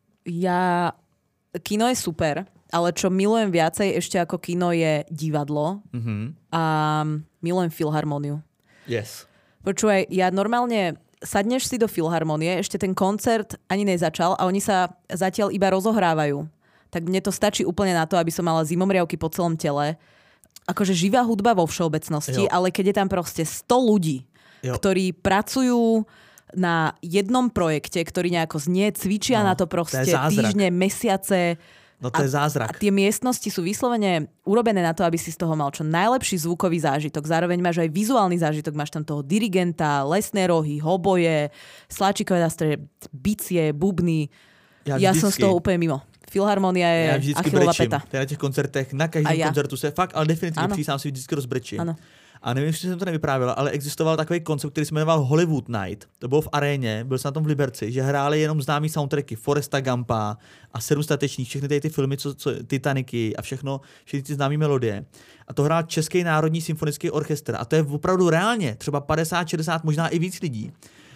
A: Ja... Kino je super, ale čo milujem viacej ešte ako kino je divadlo mm-hmm. a milujem filharmoniu.
B: Yes.
A: Počúvaj, ja normálne sadneš si do filharmonie, ešte ten koncert ani nezačal a oni sa zatiaľ iba rozohrávajú. Tak mne to stačí úplne na to, aby som mala zimomriavky po celom tele. Akože živá hudba vo všeobecnosti, jo. Ale keď je tam proste sto ľudí, jo. Ktorí pracujú na jednom projekte, ktorý nejako znie, cvičia no, na to proste to týždne, mesiace.
B: No to je zázrak.
A: A tie miestnosti sú vyslovene urobené na to, aby si z toho mal čo najlepší zvukový zážitok. Zároveň máš aj vizuálny zážitok. Máš tam toho dirigenta, lesné rohy, hoboje, sláčikové nástroje, bicie, bubny. Ja, ja som z toho úplne mimo. Filharmonia je
B: ja
A: Achillova peta.
B: Na těch koncertech, na každém ja. koncertu se fakt, ale definitivně přísám si vždycky rozbrečím.
A: Ano.
B: A nevím, jestli jsem to nevyprávěla, ale existoval takový koncept, který se jmenoval Hollywood Night. To bylo v aréně, byl jsem na tom v Liberci, že hráli jenom známý soundtracky Foresta Gumpa a Sedm statečných, všechny ty, ty filmy, co, co, Titaniky a všechno, všechny ty známé melodie. A to hrál Český národní symfonický orchestr. A to je opravdu reálně, třeba padesát, šedesát, možná i víc lidí.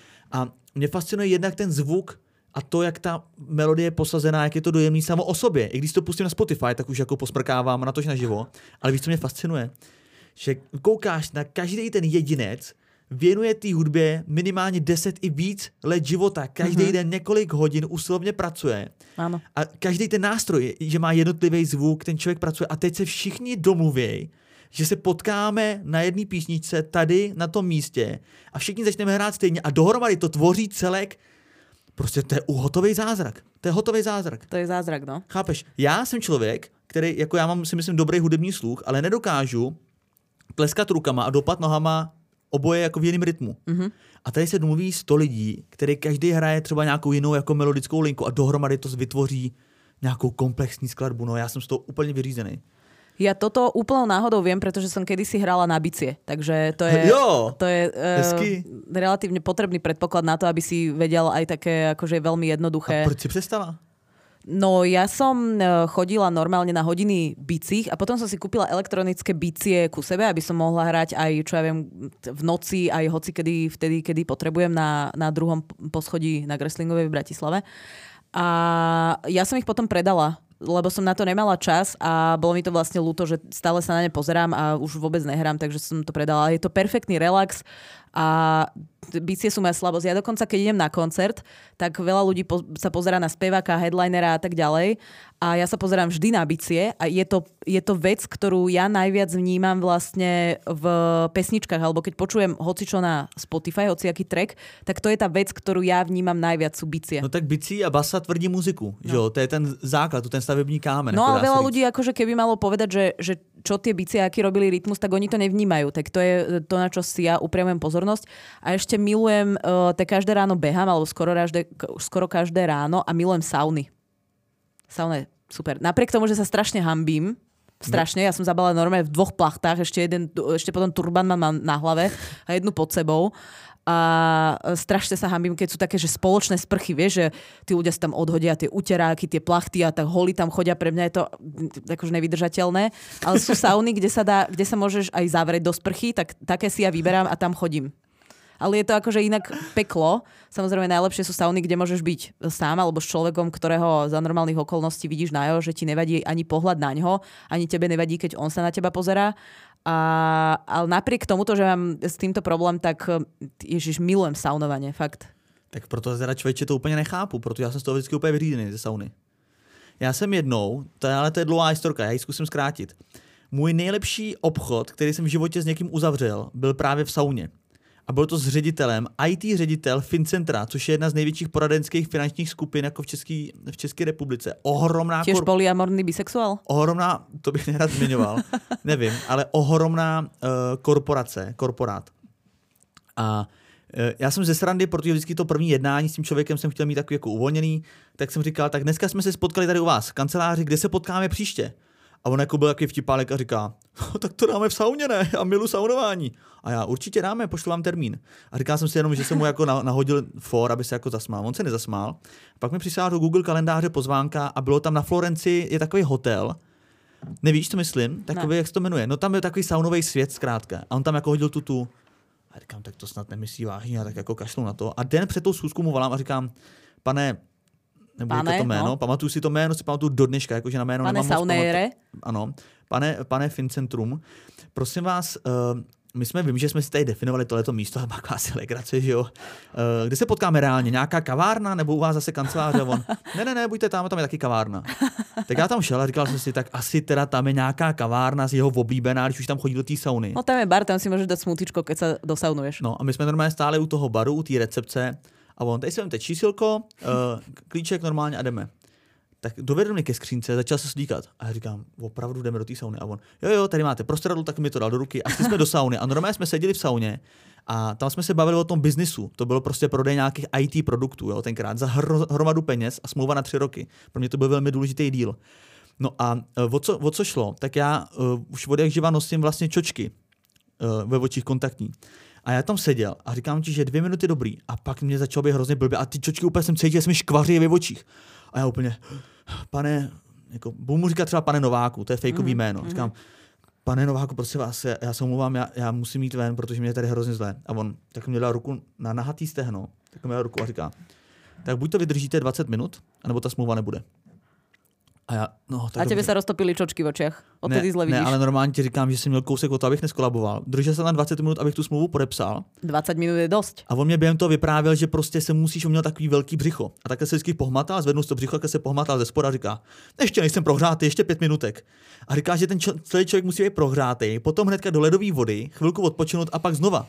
B: A mě fascinuje jednak ten zvuk a to, jak ta melodie je posazená, jak je to dojemný samo o sobě. I když to pustím na Spotify, tak už jako posmrkávám na tož naživo. Ale víš, co mě fascinuje? Že koukáš na každý ten jedinec, věnuje té hudbě minimálně deset i víc let života. Každý mm-hmm. den několik hodin usilovně pracuje.
A: Ano.
B: A každý ten nástroj, že má jednotlivý zvuk, ten člověk pracuje. A teď se všichni domluví, že se potkáme na jedné písničce tady na tom místě a všichni začneme hrát stejně a dohromady to tvoří celek. Prostě to je hotový zázrak. To je hotový zázrak.
A: To je zázrak, no.
B: Chápeš? Já jsem člověk, který, jako já mám si myslím dobrý hudební sluch, ale nedokážu tleskat rukama a dopat nohama oboje jako v jiném rytmu. Mm-hmm. A tady se domluví sto lidí, který každý hraje třeba nějakou jinou jako melodickou linku a dohromady to vytvoří nějakou komplexní skladbu. No já jsem z toho úplně vyřízený.
A: Ja toto úplnou náhodou viem, pretože som kedysi hrala na bicie. Takže to je,
B: jo,
A: to je uh, relatívne potrebný predpoklad na to, aby si vedel aj také akože veľmi jednoduché.
B: A proč si přestala?
A: No ja som chodila normálne na hodiny bicích a potom som si kúpila elektronické bicie ku sebe, aby som mohla hrať aj, čo ja viem, v noci, aj hoci kedy, vtedy, kedy potrebujem na, na druhom poschodí na Greslingovej v Bratislave. A ja som ich potom predala, lebo som na to nemala čas a bolo mi to vlastne ľúto, že stále sa na ne pozerám a už vôbec nehrám, takže som to predala. Je to perfektný relax a bicie sú moja slabosť. Ja dokonca, keď idem na koncert, tak veľa ľudí po- sa pozerá na speváka, headlinera a tak ďalej a ja sa pozerám vždy na bicie a je to, je to vec, ktorú ja najviac vnímam vlastne v pesničkách, alebo keď počujem hocičo na Spotify, hociaký track, tak to je tá vec, ktorú ja vnímam najviac, sú bicie.
B: No tak bicí a basa tvrdí muziku, no. Že jo? To je ten základ, to ten stavební kámen.
A: No a veľa ľudí, akože keby malo povedať, že, že čo tie bicie, aký robili rytmus, tak oni to nevnímajú. Tak to je to, na čo si ja upriamujem pozornosť. A ešte milujem, uh, te každé ráno behám, alebo skoro každé, skoro každé ráno a milujem sauny. Sauna je super. Napriek tomu, že sa strašne hanbím, Strašne, ja som zabala normálne v dvoch plachtách, ešte, jeden, ešte potom turban mám na hlave a jednu pod sebou. A strašne sa hanbím, keď sú také, že spoločné sprchy, vieš, že tí ľudia si tam odhodia tie uteráky, tie plachty a tak holi tam chodia, pre mňa je to akože nevydržateľné, ale sú sauny, kde sa dá, kde sa môžeš aj zavrieť do sprchy, tak také si ja vyberám a tam chodím. Ale je to akože inak peklo. Samozrejme najlepšie sú sauny, kde môžeš byť sám alebo s človekom, ktorého za normálnych okolností vidíš na jeho, že ti nevadí ani pohľad na ňo, ani tebe nevadí, keď on sa na teba pozerá. A, ale napriek tomuto, že mám s týmto problém, tak ježiš, milujem saunovanie, fakt.
B: Tak proto teda člověče to úplně nechápu, protože já jsem z toho vždycky úplně vyřízený ze sauny. Já jsem jednou, to je, ale to je dlouhá historka, já ji zkusím zkrátit. Můj nejlepší obchod, který jsem v životě s někým uzavřel, byl právě v sauně. A byl to s ředitelem, í té ředitel Fincentra, což je jedna z největších poradenských finančních skupin jako v České, v České republice. Ohromná...
A: Těž kor... polyamorný bisexuál?
B: Ohromná, to bych nerad zmiňoval, nevím, ale ohromná uh, korporace, korporát. A uh, já jsem ze srandy, protože vždycky to první jednání s tím člověkem jsem chtěl mít takový jako uvolněný, tak jsem říkal, tak dneska jsme se spotkali tady u vás v kanceláři, kde se potkáme příště. A on jako byl takový vtipálek a říká, no, tak to dáme v sauně, ne? Já milu saunování. A já určitě dáme, pošlu vám termín. A říkal jsem si jenom, že jsem mu jako nahodil for, aby se jako zasmál. On se nezasmál. A pak mi přišla do Google kalendáře pozvánka a bylo tam na Florenci, je takový hotel. Nevíš, co myslím? Takový, ne. Jak se to jmenuje? No tam je takový saunový svět zkrátka. A on tam jako hodil tutu. A říkám, tak to snad nemyslí vážně, a tak jako kašlu na to. A den před tou schůzkou mu volám a říkám, pane, nebo pane, to jméno, no. Pamatuju si to jméno, si pamatuju do dneška, jakože na jméno
A: pane
B: nemám
A: Saunere.
B: Ano, pane, pane Fincentrum, prosím vás, uh, my jsme, vím, že jsme si tady definovali tohleto místo, ale má kvásy legrace, že jo. Uh, kde se potkáme reálně? Nějaká kavárna nebo u vás zase kanceláře? On, ne, ne, ne, buďte tam, tam je taky kavárna. Tak já tam šel a říkal jsem si, tak asi teda tam je nějaká kavárna z jeho oblíbená, když už tam chodí do té sauny.
A: No tam je bar, tam si můžeš dát smutičko, keď se dosaunuješ.
B: No a my jsme normálně stáli u toho baru, u té recepce a on, tady si vemte čísilko, uh, klíček normálně a jdeme. Tak dovedl mě ke skřínce, začal se slíkat. A já říkám, opravdu jdeme do té sauny. A on, jo, jo, tady máte prostradlu, tak mi to dal do ruky. A šli jsme do sauny. A normálně jsme seděli v sauně a tam jsme se bavili o tom biznisu. To bylo prostě prodej nějakých í té produktů, jo, tenkrát za hro, hromadu peněz a smlouva na tři roky. Pro mě to byl velmi důležitý díl. No a uh, o, co, o co šlo? Tak já uh, už od jak živa nosím vlastně čočky uh, ve očích kontaktní. A já tam seděl a říkám ti, že dvě minuty dobrý. A pak mě začalo být hrozně blbě. A ty čočky úplně jsem cítil, že jsem škvaří ve očích. A já úplně, pane, jako, budu mu říkat třeba pane Nováku, to je fejkový mm-hmm. jméno. Říkám, pane Nováku, prosím vás, já, já se omlouvám, já, já musím jít ven, protože mě je tady hrozně zlé. A on tak mě dal ruku na nahatý stehno, tak mě dal ruku a říká, tak buď to vydržíte dvacet minut, anebo ta smlouva nebude. A, já, no, tak
A: a tebe sa roztopili čočky v očiach. Odtedy zle vidíš.
B: Ne, ale normálně ti říkám, že jsem měl kousek o to, abych neskolaboval. Držel jsem na dvacet minut, abych tu smlouvu podepsal.
A: dvacet minut je dosť.
B: A on mě během toho vyprávěl, že prostě se musíš, uměl takový velký břicho. A takhle se vždycky pohmatal, zvednul to břicho, takhle se pohmatal ze spoda a říká, ještě nejsem prohřátý, ještě pět minutek. A říká, že ten čo- celý člověk musí být prohřátý, potom hnedka do ledové vody, chvilku odpočinout a pak znova.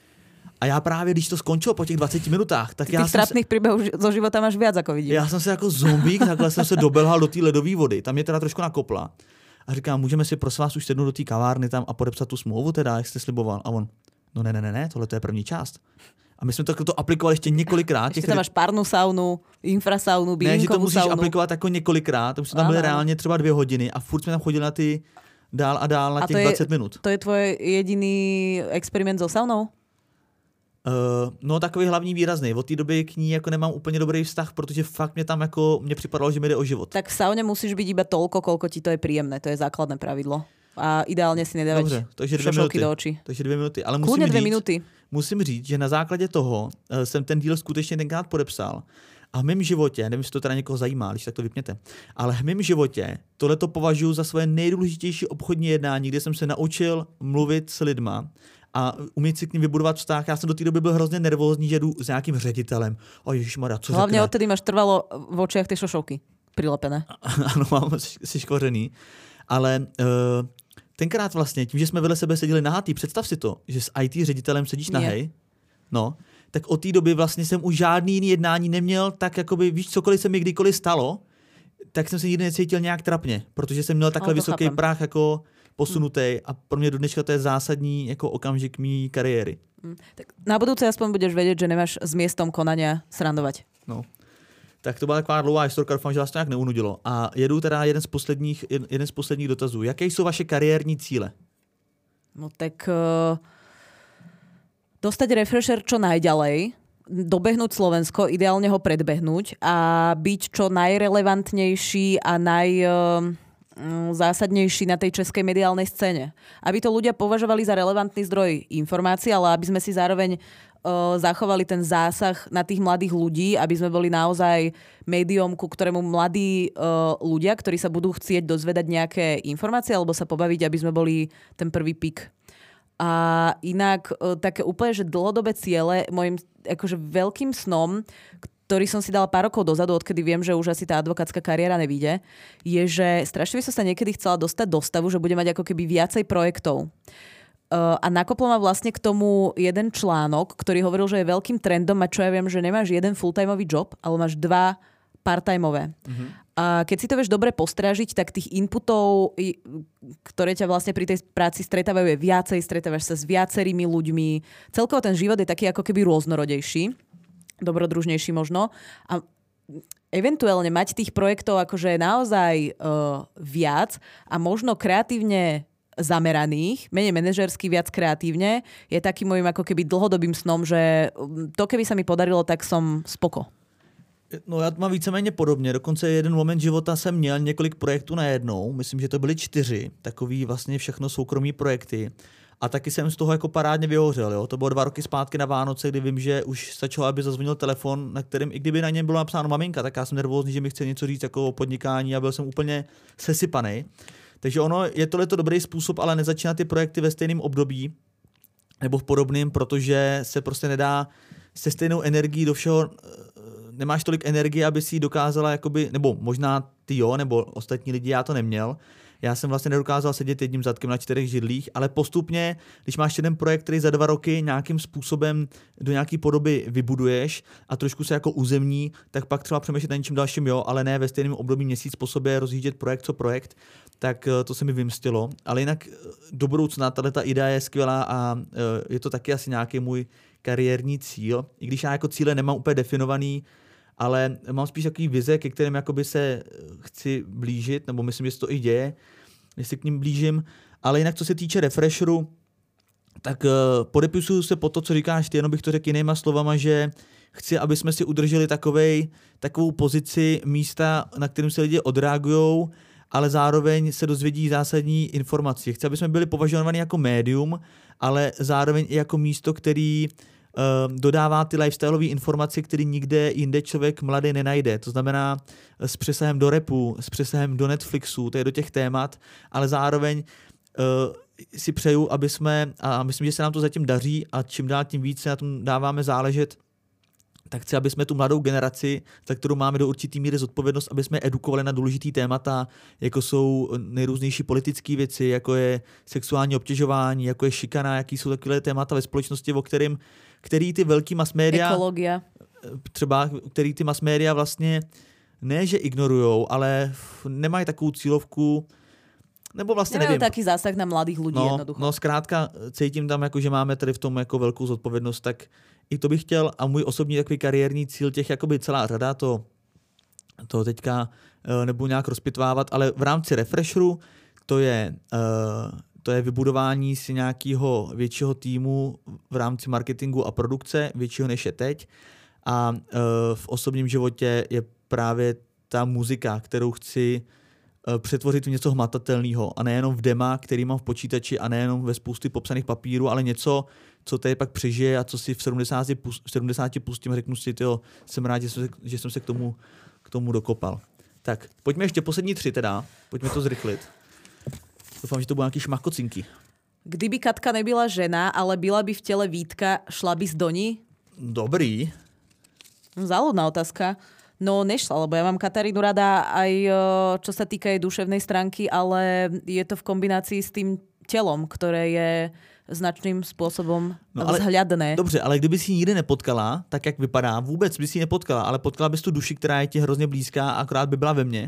B: A já právě, když to skončilo po těch dvaceti minutách, tak
A: Ty
B: já
A: těch trápných příběhů zo života máš viac, ako vidím.
B: Já jsem se jako zombík, takhle jsem se dobelhal do té ledové vody. Tam mě teda trošku nakopla. A říkám, můžeme si prosím vás už sednout do té kavárny tam a podepsat tu smlouvu teda, jak jste sliboval. A on, no ne, ne, ne, ne, tohle to je první část. A my jsme to, to aplikovali ještě několikrát.
A: Ještě tam máš párnu saunu, infrasaunu, bylinkovou saunu.
B: Ne, že to musíš saunu. aplikovat jako několikrát. Už jsme tam byli reálně třeba dvě hodiny a furt jsme tam chodili na ty dál a dál na a těch je, dvacet minut.
A: To je tvoj jediný experiment so saunou?
B: Uh, no takový hlavní výrazný. Od té doby k ní jako nemám úplně dobrý vztah, protože fakt mě tam jako, mě připadalo, že mi jde o život.
A: Tak v saune musíš být iba toľko, koľko ti to je príjemné. To je základné pravidlo. A ideálně si nedávať
B: Dobře, takže dvě minuty.
A: do očí.
B: Takže dvě minuty. Ale
A: musím
B: říct,
A: dvě minuty.
B: musím říct, že na základě toho uh, jsem ten díl skutečně tenkrát podepsal. A v mém životě, nevím, jestli to teda někoho zajímá, když tak to vypněte, ale v mém životě tohleto považuji za svoje nejdůležitější obchodní jednání, kde jsem se naučil mluvit s lidma a umět si k ním vybudovat vztah. Já jsem do té doby byl hrozně nervózní, že jdu s nějakým ředitelem. O ježišmarja, co
A: hlavně
B: řekne?
A: odtedy máš trvalo v očiach ty šošovky prilepené.
B: Ano, mám si škořený. Ale uh, tenkrát vlastně, tím, že jsme vedle sebe seděli nahatý, představ si to, že s í té ředitelem sedíš nahej, no, tak od té doby vlastně jsem už žádný jiný jednání neměl, tak jakoby, víš, cokoliv se mi kdykoliv stalo, tak jsem se nikdy necítil nějak trapně, protože jsem měl takhle vysoký chápem. Práh jako posunutý a pro mě do dneška to je zásadní jako okamžik mý kariéry.
A: Hmm. Tak na budúce aspoň budeš vedieť, že nemáš s miestom konania srandovať.
B: No. Tak to byla taková dlouhá historka, doufám, že vás to nějak neunudilo. A jedu teda jeden z posledních, jeden z posledních dotazů. Jaké jsou vaše kariérní cíle?
A: No tak uh, dostať refresher čo najďalej, dobehnúť Slovensko, ideálne ho predbehnúť a byť čo najrelevantnejší a najzásadnejší na tej českej mediálnej scéne. Aby to ľudia považovali za relevantný zdroj informácií, ale aby sme si zároveň uh, zachovali ten zásah na tých mladých ľudí, aby sme boli naozaj médium, ku ktorému mladí uh, ľudia, ktorí sa budú chcieť dozvedať nejaké informácie alebo sa pobaviť, aby sme boli ten prvý pik. A inak uh, také úplne, že dlhodobé ciele, môjim akože veľkým snom, ktorý som si dala pár rokov dozadu, odkedy viem, že už asi tá advokátska kariéra nevíde, je, že strašne by som sa niekedy chcela dostať do stavu, že budem mať ako keby viacej projektov. Uh, a nakoplo ma vlastne k tomu jeden článok, ktorý hovoril, že je veľkým trendom a čo ja viem, že nemáš jeden full-timeový job, ale máš dva part-timeové. Mm-hmm. A keď si to vieš dobre postrážiť, tak tých inputov, ktoré ťa vlastne pri tej práci stretávajú, je viacej, stretávaš sa s viacerými ľuďmi. Celkovo ten život je taký ako keby rôznorodejší, dobrodružnejší možno. A eventuálne mať tých projektov akože naozaj uh, viac a možno kreatívne zameraných, menej manažersky, viac kreatívne, je takým môjim ako keby dlhodobým snom, že to keby sa mi podarilo, tak som spoko.
B: No já to mám víceméně podobně, dokonce jeden moment života jsem měl několik projektů najednou, myslím, že to byly čtyři, takový vlastně všechno soukromí projekty a taky jsem z toho jako parádně vyhořel, jo? To bylo dva roky zpátky na Vánoce, kdy vím, že už stačilo, aby zazvonil telefon, na kterém, i kdyby na něm bylo napsáno maminka, tak já jsem nervózní, že mi chce něco říct jako o podnikání a byl jsem úplně sesypanej. Takže ono, je tohleto dobrý způsob, ale nezačínat ty projekty ve stejném období nebo v podobném, protože se prostě nedá se stejnou energií do všeho, nemáš tolik energie, aby si ji dokázala, jakoby, nebo možná ty jo, nebo ostatní lidi, já to neměl. Já jsem vlastně nedokázal sedět jedním zadkem na čtyřech židlích, ale postupně, když máš jeden projekt, který za dva roky nějakým způsobem do nějaké podoby vybuduješ a trošku se jako uzemní, tak pak třeba přemýšlet na něčím dalším, jo, ale ne ve stejném období měsíc po sobě rozjíždět projekt co projekt, tak to se mi vymstilo. Ale jinak do budoucna tato idea je skvělá a je to taky asi nějaký můj kariérní cíl, i když já jako cíle nemám úplně definovaný, ale mám spíš takový vize, ke kterým jakoby se chci blížit, nebo myslím, že se to i děje, že se k ním blížím. Ale jinak, co se týče refresheru, tak uh, podepisuju se po to, co říkáš ty, jenom bych to řekl jinýma slovama, že chci, aby jsme si udrželi takovej, takovou pozici místa, na kterým se lidi odreagujou, ale zároveň se dozvědí zásadní informace. Chci, aby jsme byli považováni jako médium, ale zároveň i jako místo, který uh, dodává ty lifestyleové informace, které nikde jinde člověk mladý nenajde. To znamená s přesahem do rapu, s přesahem do Netflixu, to je do těch témat, ale zároveň uh, si přeju, aby jsme, a myslím, že se nám to zatím daří a čím dál tím víc se na tom dáváme záležet, tak chci, aby jsme tu mladou generaci, za kterou máme do určitý míry zodpovědnost, aby jsme edukovali na důležitý témata, jako jsou nejrůznější politické věci, jako je sexuální obtěžování, jako je šikana, jaký jsou takové témata ve společnosti, o kterým, který ty velký mass media,
A: ekologia,
B: třeba, který ty mass media vlastně ne, že ignorujou, ale nemají takovou cílovku, nebo vlastně
A: nemajú
B: nevím.
A: taký zásah na mladých ľudí
B: no,
A: jednoducho.
B: No zkrátka cítím tam, jako, že máme tady v tom jako velkou zodpovědnost, tak i to bych chtěl a můj osobní takový kariérní cíl, těch jakoby celá řada, to, to teďka uh, nebudu nějak rozpitvávat, ale v rámci refresheru to je, uh, to je vybudování si nějakého většího týmu v rámci marketingu a produkce, většího než je teď. A uh, v osobním životě je právě ta muzika, kterou chci přetvořit v něco hmatatelného a nejenom v dema, který mám v počítači a nejenom ve spousty popsaných papírů, ale něco, co tady pak přežije a co si v sedmdesáti, v sedmdesáti pustím a řeknu si, tyjo, jsem rád, že jsem se, že jsem se k, tomu, k tomu dokopal. Tak, pojďme ještě poslední tři teda, pojďme to zrychlit. Doufám, že to budou nějaký šmakocinky.
A: Kdyby Katka nebyla žena, ale byla by v těle Vítka, šla bys do ní?
B: Dobrý.
A: Záľudná otázka. No nešla, lebo ja mám Katarínu rada aj čo sa týka jej duševnej stránky, ale je to v kombinácii s tým telom, ktoré je značným spôsobom no, vzhľadné.
B: Dobře, ale kdyby si ji nikdy nepotkala, tak jak vypadá, vůbec by si ji nepotkala, ale potkala bys tu duši, která je ti hrozně blízká a akorát by byla ve mně.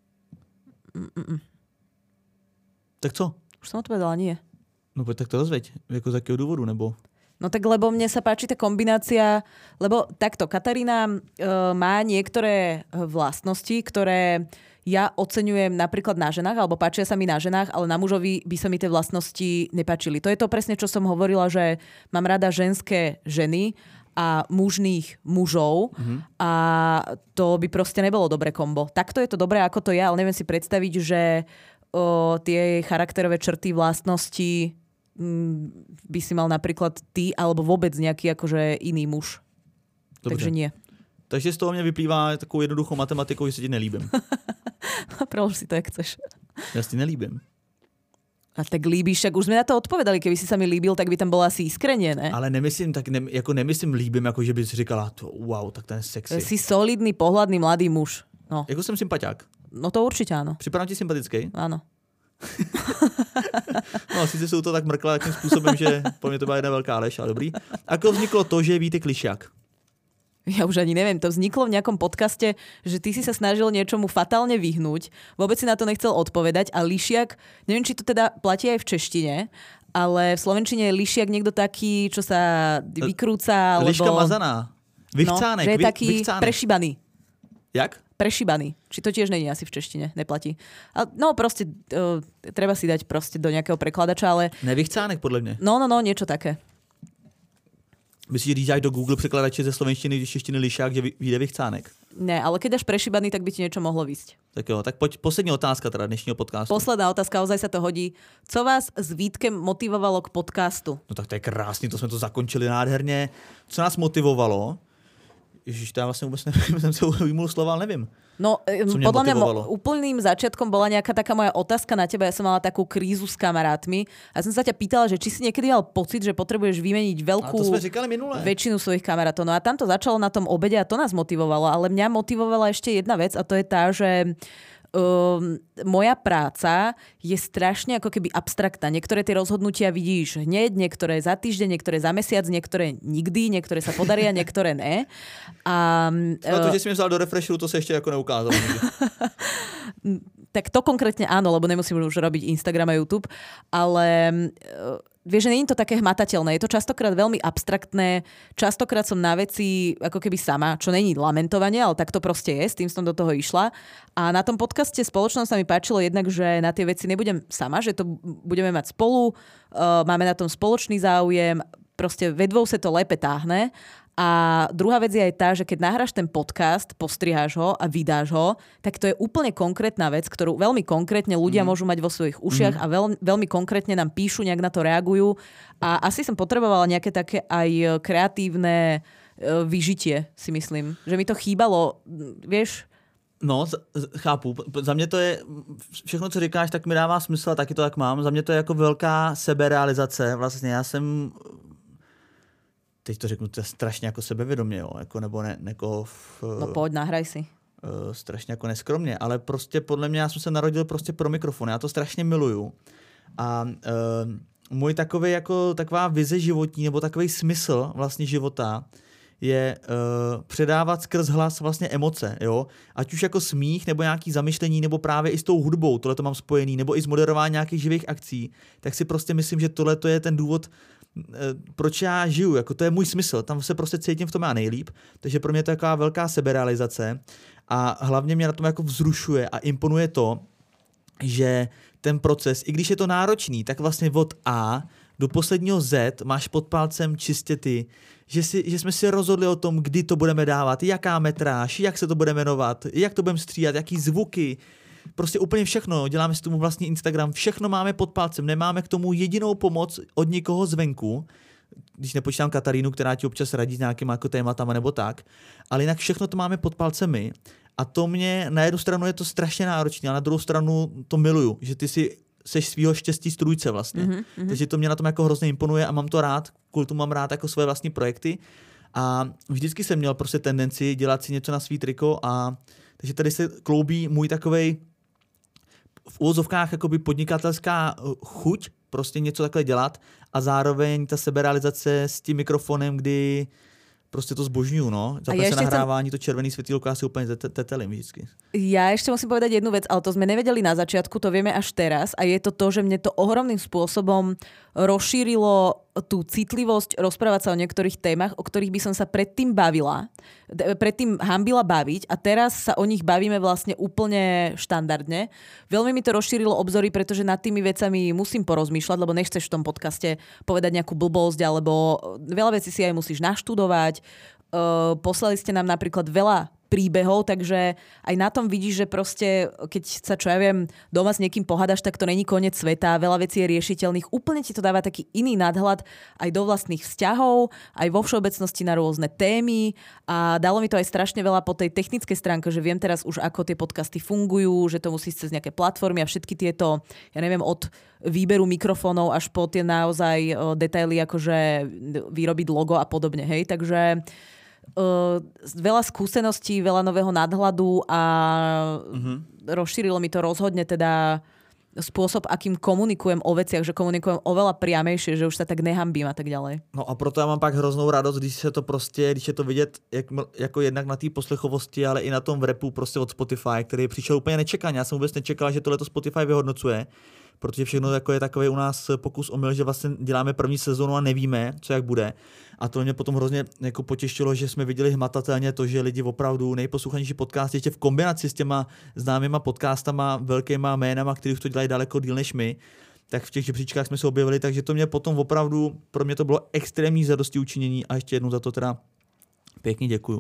A: Mm-mm.
B: Tak co?
A: Už som odpovedala, nie.
B: No pojď tak to rozveď, jako z jakého důvodu, nebo...
A: No tak lebo mne sa páči tá kombinácia, lebo takto, Katarína e, má niektoré vlastnosti, ktoré ja oceňujem napríklad na ženách, alebo páčia sa mi na ženách, ale na mužovi by sa mi tie vlastnosti nepáčili. To je to presne, čo som hovorila, že mám rada ženské ženy a mužných mužov mm-hmm. a to by proste nebolo dobré kombo. Takto je to dobré, ako to je, ale neviem si predstaviť, že o, tie charakterové črty, vlastnosti by si mal napríklad ty alebo vôbec nejaký akože iný muž. Dobře. Takže nie.
B: Takže z toho mne vyplývá takovou jednoduchou matematikou, že si ti nelíbim.
A: Prolož si to, jak chceš.
B: Ja si nelíbim.
A: A tak líbíš, tak už sme na to odpovedali. Keby si sa mi líbil, tak by tam bola asi iskrenie, ne?
B: Ale nemyslím, tak ne, jako nemyslím líbim, jako že bys říkala, to, wow, tak ten je sexy.
A: Si solidný, pohľadný mladý muž. No.
B: Jako jsem sympatiák.
A: No to určite áno.
B: Připadám ti sympatický?
A: Áno.
B: No, sice jsou to tak mrkla takým způsobem, že po mně to byla jedna velká lež, ale dobrý. Ako vzniklo to, že je Vítek Lišiak?
A: Ja už ani neviem, to vzniklo v nejakom podcaste, že ty si sa snažil niečomu fatálne vyhnúť, vôbec si na to nechcel odpovedať a Lišiak, neviem, či to teda platí aj v češtine, ale v slovenčine je Lišiak niekto taký, čo sa vykrúca, alebo...
B: Liška mazaná. Vychcánek.
A: No, že je
B: vy,
A: taký
B: vychcánek.
A: prešibaný.
B: Jak?
A: Prešibaný. Či to tiež není asi v češtine, neplatí. A no proste, uh, treba si dať proste do nejakého prekladača, ale...
B: Nevychcánek, podle mě.
A: No, no, no, niečo také.
B: Myslíš, že do Google překladače ze slovenštiny, když češtiny Lišák, že vyjde Vychcánek?
A: Ne, ale keď dáš prešibaný, tak by ti niečo mohlo výsť.
B: Tak jo, tak poď, poslední otázka teda dnešního podcastu.
A: Posledná otázka, ozaj sa to hodí. Co vás s Vítkem motivovalo k podcastu?
B: No tak to je krásný, to jsme to zakončili nádherně. Co nás motivovalo? Ježiš, to ja vlastne vôbec neviem, som sa vymul slova, ale neviem.
A: No, podľa mňa mo- úplným začiatkom bola nejaká taká moja otázka na teba. Ja som mala takú krízu s kamarátmi a som sa ťa pýtala, že či si niekedy mal pocit, že potrebuješ vymeniť veľkú väčšinu svojich kamarátov. No a tam to začalo na tom obede a to nás motivovalo. Ale mňa motivovala ešte jedna vec a to je tá, že Um, moja práca je strašne ako keby abstraktná. Niektoré tie rozhodnutia vidíš hneď, niektoré za týždeň, niektoré za mesiac, niektoré nikdy, niektoré sa podaria, niektoré ne. A,
B: no to, že si mi vzal do refresheru, to sa ešte ako neukázalo.
A: Tak to konkrétne áno, lebo nemusím už robiť Instagram a YouTube, ale uh, vieš, že nie je to také hmatateľné. Je to častokrát veľmi abstraktné. Častokrát som na veci ako keby sama, čo není lamentovanie, ale tak to proste je. S tým som do toho išla. A na tom podcaste Spoločnosť sa mi páčilo jednak, že na tie veci nebudem sama, že to budeme mať spolu, uh, máme na tom spoločný záujem, proste vedvou sa to lépe táhne. A druhá vec je aj tá, že keď nahráš ten podcast, postriháš ho a vydáš ho, tak to je úplne konkrétna vec, ktorú veľmi konkrétne ľudia mm. môžu mať vo svojich ušiach mm. a veľ, veľmi konkrétne nám píšu, nejak na to reagujú. A asi som potrebovala nejaké také aj kreatívne vyžitie, si myslím. Že mi to chýbalo, vieš...
B: No, chápu. Za mě to je, všechno, co říkáš, tak mi dává smysl a taky to tak mám. Za mě to je jako velká seberealizace. Vlastně já jsem... Teď to řeknu, to je strašně jako sebevědomě, jo, jako, nebo ne, jako... V,
A: no pojď, nahraj si.
B: Uh, strašně jako neskromně, ale prostě podle mě, já jsem se narodil prostě pro mikrofon, já to strašně miluju. A uh, můj takový jako, taková vize životní, nebo takový smysl vlastně života je uh, předávat skrz hlas vlastně emoce, jo. Ať už jako smích, nebo nějaký zamyšlení, nebo právě i s tou hudbou, tohle to mám spojený, nebo i s moderováním nějakých živých akcí, tak si prostě myslím, že tohle to je ten důvod, proč já žiju, jako to je můj smysl, tam se prostě cítím v tom já nejlíp, takže pro mě to je taková velká seberealizace a hlavně mě na tom jako vzrušuje a imponuje to, že ten proces, i když je to náročný, tak vlastně od A do posledního Z máš pod palcem čistě ty, že, si, že jsme si rozhodli o tom, kdy to budeme dávat, jaká metráž, jak se to bude jmenovat, jak to budeme střídat, jaký zvuky, prostě úplně všechno, děláme si tomu vlastní Instagram, všechno máme pod palcem, nemáme k tomu jedinou pomoc od nikoho zvenku, když nepočítám Katarínu, která ti občas radí s nějakýma jako tématama nebo tak, ale jinak všechno to máme pod palcemi a to mě, na jednu stranu je to strašně náročné, a na druhou stranu to miluju, že ty si seš svýho štěstí strůjce vlastně, mm-hmm. takže to mě na tom jako hrozně imponuje a mám to rád, kvůli tomu mám rád jako svoje vlastní projekty a vždycky jsem měl prostě tendenci dělat si něco na svý triko a takže tady se kloubí můj takovej v úvozovkách jakoby podnikatelská chuť prostě něco takhle dělat a zároveň ta seberealizace s tím mikrofonem, kdy prostě to zbožňujú, no. Zapne sa nahrávání, to červený světýlko, asi úplne tetelím vždycky. Ja ešte musím povedať jednu vec, ale to sme nevedeli na začiatku, to vieme až teraz a je to to, že mne to ohromným spôsobom rozšírilo
A: tú citlivosť rozprávať sa o niektorých témach, o ktorých by som sa predtým bavila, predtým hanbila baviť a teraz sa o nich bavíme vlastne úplne štandardne. Veľmi mi to rozšírilo obzory, pretože nad tými vecami musím porozmýšľať, lebo nechceš v tom podcaste povedať nejakú blbosť, alebo veľa vecí si aj musíš naštudovať. Uh, poslali ste nám napríklad veľa príbehov, takže aj na tom vidíš, že proste, keď sa, čo ja viem, doma s niekým pohádaš, tak to není koniec sveta, veľa vecí je riešiteľných. Úplne ti to dáva taký iný nadhľad aj do vlastných vzťahov, aj vo všeobecnosti na rôzne témy a dalo mi to aj strašne veľa po tej technickej stránke, že viem teraz už, ako tie podcasty fungujú, že to musí cez nejaké platformy a všetky tieto, ja neviem, od výberu mikrofónov až po tie naozaj detaily, akože vyrobiť logo a podobne, hej, takže Uh, veľa skúseností, veľa nového nadhľadu a uh-huh. rozšírilo mi to rozhodne teda spôsob, akým komunikujem o veciach, že komunikujem oveľa priamejšie, že už sa tak nehambím a tak ďalej.
B: No a proto já mám pak hroznou radost, když se to prostě, když je to vidět jak, jako jednak na té poslechovosti, ale i na tom v rapu prostě od Spotify, který přišel úplně nečekaně. Já jsem vůbec nečekal, že tohleto Spotify vyhodnocuje, protože všechno jako je takový u nás pokus omyl, že vlastně děláme první sezónu a nevíme, co jak bude. A to mě potom hrozně jako potěšilo, že jsme viděli hmatatelně to, že lidi opravdu nejposlouchanější podcast ještě v kombinaci s těma známýma podcastama, velkýma jménama, který už to dělají daleko díl než my, tak v těch žebříčkách jsme se objevili, takže to mě potom opravdu, pro mě to bylo extrémní zadosti učinění a ještě jednou za to teda pěkně děkuju.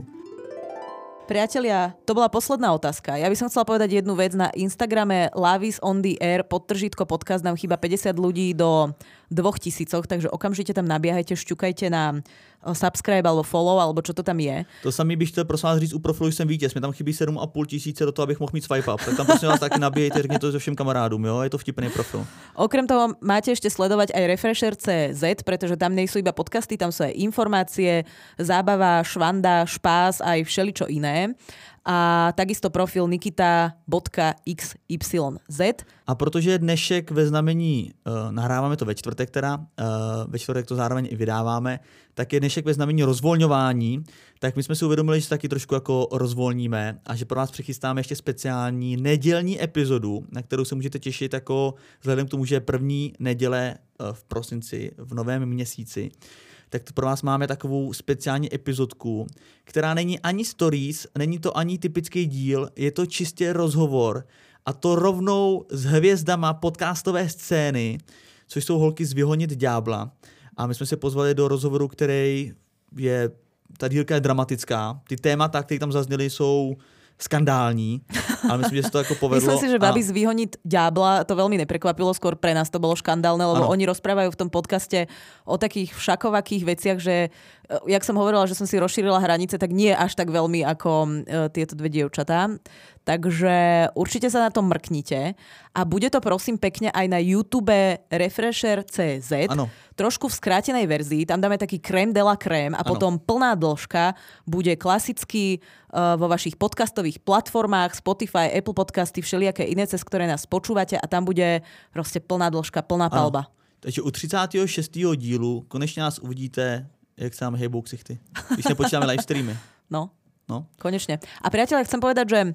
A: Priatelia, to bola posledná otázka. Ja by som chcela povedať jednu vec. Na Instagrame Lavis on the Air podtržítko podcast nám chýba päťdesiat ľudí do dvoch tisícoch, takže okamžite tam nabiehajte, šťukajte na subscribe alebo follow, alebo čo to tam je.
B: To samý bych chtěl prosím vás říct u profilu, že jsem vítěz. Mě tam chybí sedm a půl tisíce do toho, abych mohl mít swipe up. Tak tam prosím vás taky nabíjejte, řekněte to všem kamarádům, jo? Je to vtipný profil.
A: Okrem toho máte ešte sledovať aj Refresher bodka cé zet, pretože tam nie sú iba podcasty, tam sú aj informácie, zábava, švanda, špás, aj všeličo iné. A takisto profil nikita bodka iks ypsilon zet.
B: A protože je dnešek ve znamení, uh, nahráváme to ve čtvrtek teda, uh, ve čtvrtek to zároveň i vydáváme, tak je dnešek ve znamení rozvolňování, tak my jsme si uvědomili, že se taky trošku jako rozvolníme a že pro vás přichystáme ještě speciální nedělní epizodu, na kterou se můžete těšit jako vzhledem k tomu, že je první neděle uh, v prosinci, v novém měsíci. Tak to pro vás máme takovou speciální epizodku, která není ani stories, není to ani typický díl, je to čistě rozhovor a to rovnou s hvězdama podcastové scény, což jsou holky z Vyhonit ďábla. A my jsme se pozvali do rozhovoru, který je, ta dílka je dramatická. Ty témata, které tam zazněly, jsou skandální, ale myslím, že se to jako povedlo.
A: Myslím si, že babi z Vyhoniť ďábla to veľmi neprekvapilo, skôr pre nás to bolo škandálne, lebo ano. Oni rozprávajú v tom podcaste o takých všakovakých veciach, že jak som hovorila, že som si rozšírila hranice, tak nie až tak veľmi ako uh, tieto dve dievčatá. Takže určite sa na to mrknite a bude to prosím pekne aj na YouTube Refresher bodka cé zet. Ano. Trošku v skrátenej verzii, tam dáme taký crème de la crème a ano. Potom plná dĺžka bude klasicky uh, vo vašich podcastových platformách, Spotify, Apple Podcasty, všelijaké iné, cez ktoré nás počúvate a tam bude proste plná dĺžka, plná palba.
B: Ano. Takže u třicátého šestého dílu konečne nás uvidíte, jak sa nám hejbou ksichty. Když nepočítáme live streamy.
A: No,
B: no,
A: konečne. A priateľe, chcem povedať, že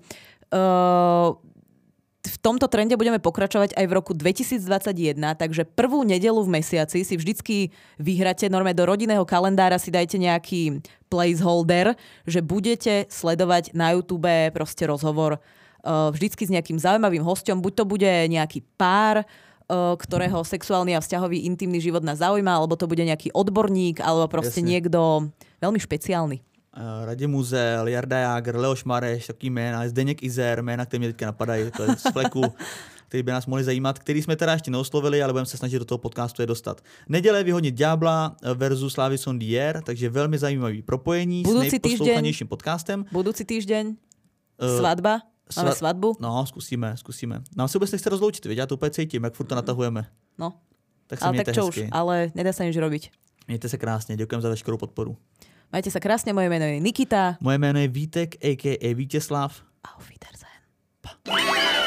A: uh, v tomto trende budeme pokračovať aj v roku dvetisícdvadsaťjeden, takže prvú nedeľu v mesiaci si vždycky vyhráte, normálne do rodinného kalendára si dajte nejaký placeholder, že budete sledovať na YouTube proste rozhovor uh, vždycky s nejakým zaujímavým hosťom, buď to bude nejaký pár, uh, ktorého sexuálny a vzťahový intimný život nás zaujíma, alebo to bude nejaký odborník, alebo proste Jasne. Niekto veľmi špeciálny.
B: Radim Muzel, Jarda Jágr, Leoš Mareš, takový jména, Zdeněk Izer, jména, které mě teďka napadají, to je z fleku, který by nás mohli zajímat, který jsme teda ještě neoslovili, ale budeme se snažit do toho podcastu je dostat. Neděle Vyhonit ďábla versus Lavis on the Air, takže velmi zajímavý propojení
A: budúci
B: s nejposlouchanějším podcastem.
A: Budúci týždeň, svadba, uh, máme sva- svadbu.
B: No, zkusíme, zkusíme. Nám se vůbec nechce rozloučit, viď? Já to úplně cítím, jak furt to natahujeme.
A: No,
B: tak se
A: ale
B: mějte
A: tak čo
B: hezky.
A: už, ale nedá sa nič robiť.
B: Mějte se krásně, děkujeme za veškerou podporu.
A: Majte sa krásne, moje meno je Nikita.
B: Moje jméno je Vítek, a ká a Vítězslav.
A: Auf Wiedersehen. Pa.